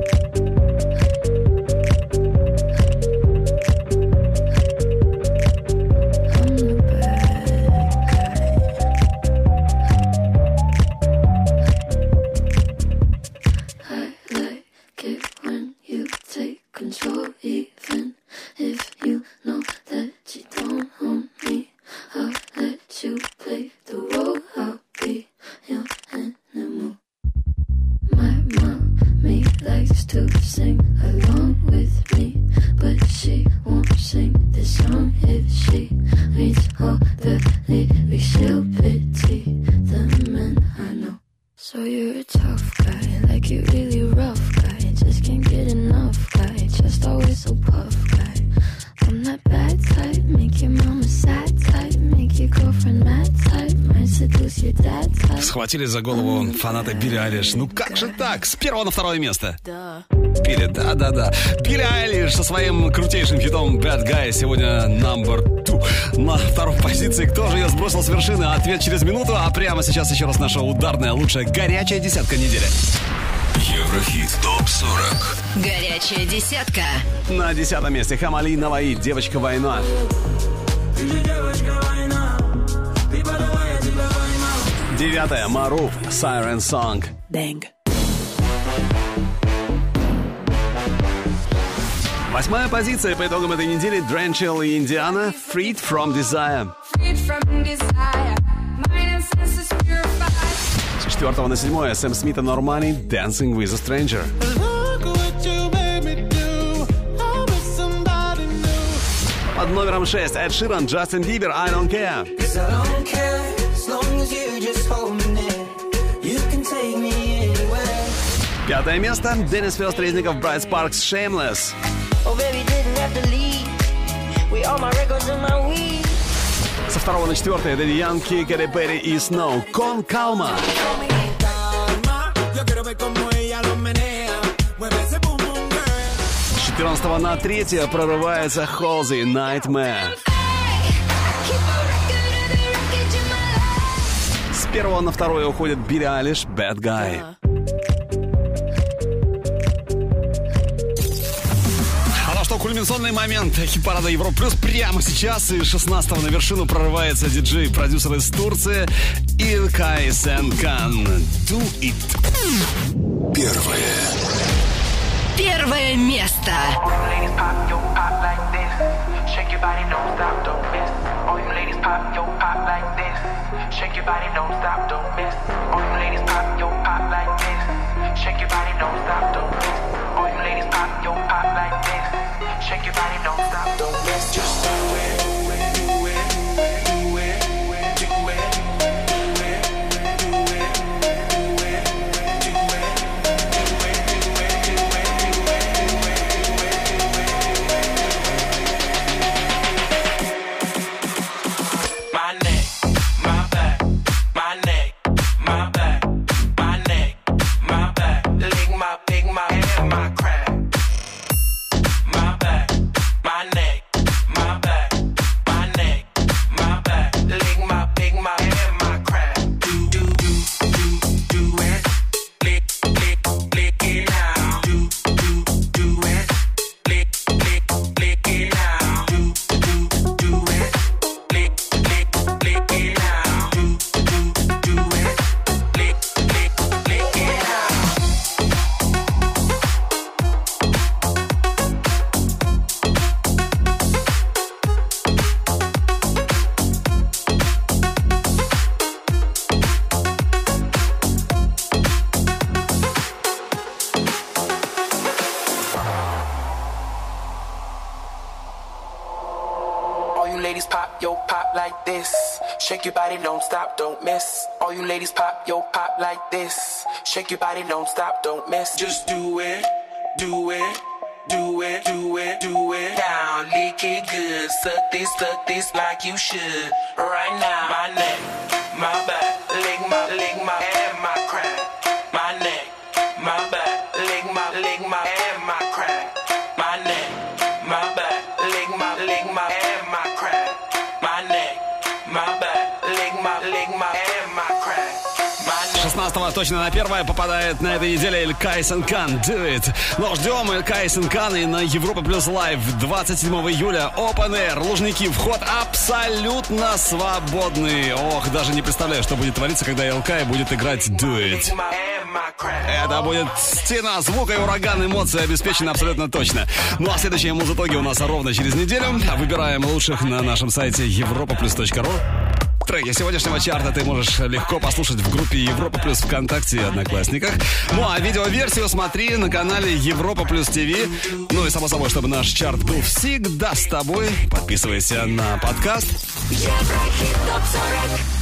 Control, even if you know that you don't own me. I'll let you play the role. I'll be your animal. My mommy likes to sing along with me, but she won't sing this song if she reads all the lyrics. She'll pity the men I know. So you're a tough guy, like you really rough guy. Just can't get enough guy, just always so puff guy. I'm that bad type, make your mama sad type, make your girlfriend mad type, might seduce your dad type. Схватили за голову фанаты Билли Айлиш. Ну как же так? С первого на второе место. Билли, да. Билли Айлиш со своим крутейшим хитом Bad Guy сегодня number 2. На второй позиции. Кто же ее сбросил с вершины? Ответ через минуту. А прямо сейчас еще раз наша ударная, лучшая, горячая десятка недели. Еврохит ТОП-40. Горячая десятка. На 10 месте Хамали Наваи, «Девочка-война». Девятое, Маруф, «Siren Song». Bang. Восьмая позиция по итогам этой недели. Дренчел и Индиана, «Freed from Desire». С 4 на 7 Сэм Смит и Нормани, «Dancing with a Stranger». Под номером 6 Эд Ширан, Джастин Бибер, «I Don't Care». Пятое место Деннис Фёст Резников, Брайт Спаркс, «Shameless». Со 2 на 4 Дэдди Янки, Кэти Перри и Snow, «Con Calma». С 14 на 3 прорывается Холзи, «Nightmare». С 1 на 2 уходит Билли Айлиш, «Bad Guy». Что кульминационный момент хит-парада Европа Плюс прямо сейчас. И 16-го на вершину прорывается диджей-продюсер из Турции Илкай Сенкан. Do it. Первое место. Shake your body, don't stop, don't miss. Just do it, do it, do it, do it, do it, do it, do it, do it. My neck, my back, my neck, my back, my neck, my back. Lick my big, my hair, my crack. Shake your body, don't stop, don't miss. All you ladies pop, yo, pop like this. Shake your body, don't stop, don't miss. Just do it, do it, do it, do it, do it. Down, lick it good. Suck this like you should. Right now, my neck, my back, lick my and my crack. 19 точно на первое попадает на этой неделе Илкай Сенкан Do It. Но ждем Илкай Сенкан и на Европа Плюс Лайв 27 июля Open Air. Лужники, вход абсолютно свободный. Ох, даже не представляю, что будет твориться, когда Илкай будет играть Do It. Это будет стена звука и ураган эмоций обеспечены абсолютно точно. Ну а следующие музытоги у нас ровно через неделю. Выбираем лучших на нашем сайте europaplus.ru. Треки сегодняшнего чарта ты можешь легко послушать в группе Европа Плюс ВКонтакте и Одноклассниках. Ну а видеоверсию смотри на канале Европа Плюс ТВ. Ну и само собой, чтобы наш чарт был всегда с тобой, подписывайся на подкаст. Еврохит ТОП 40.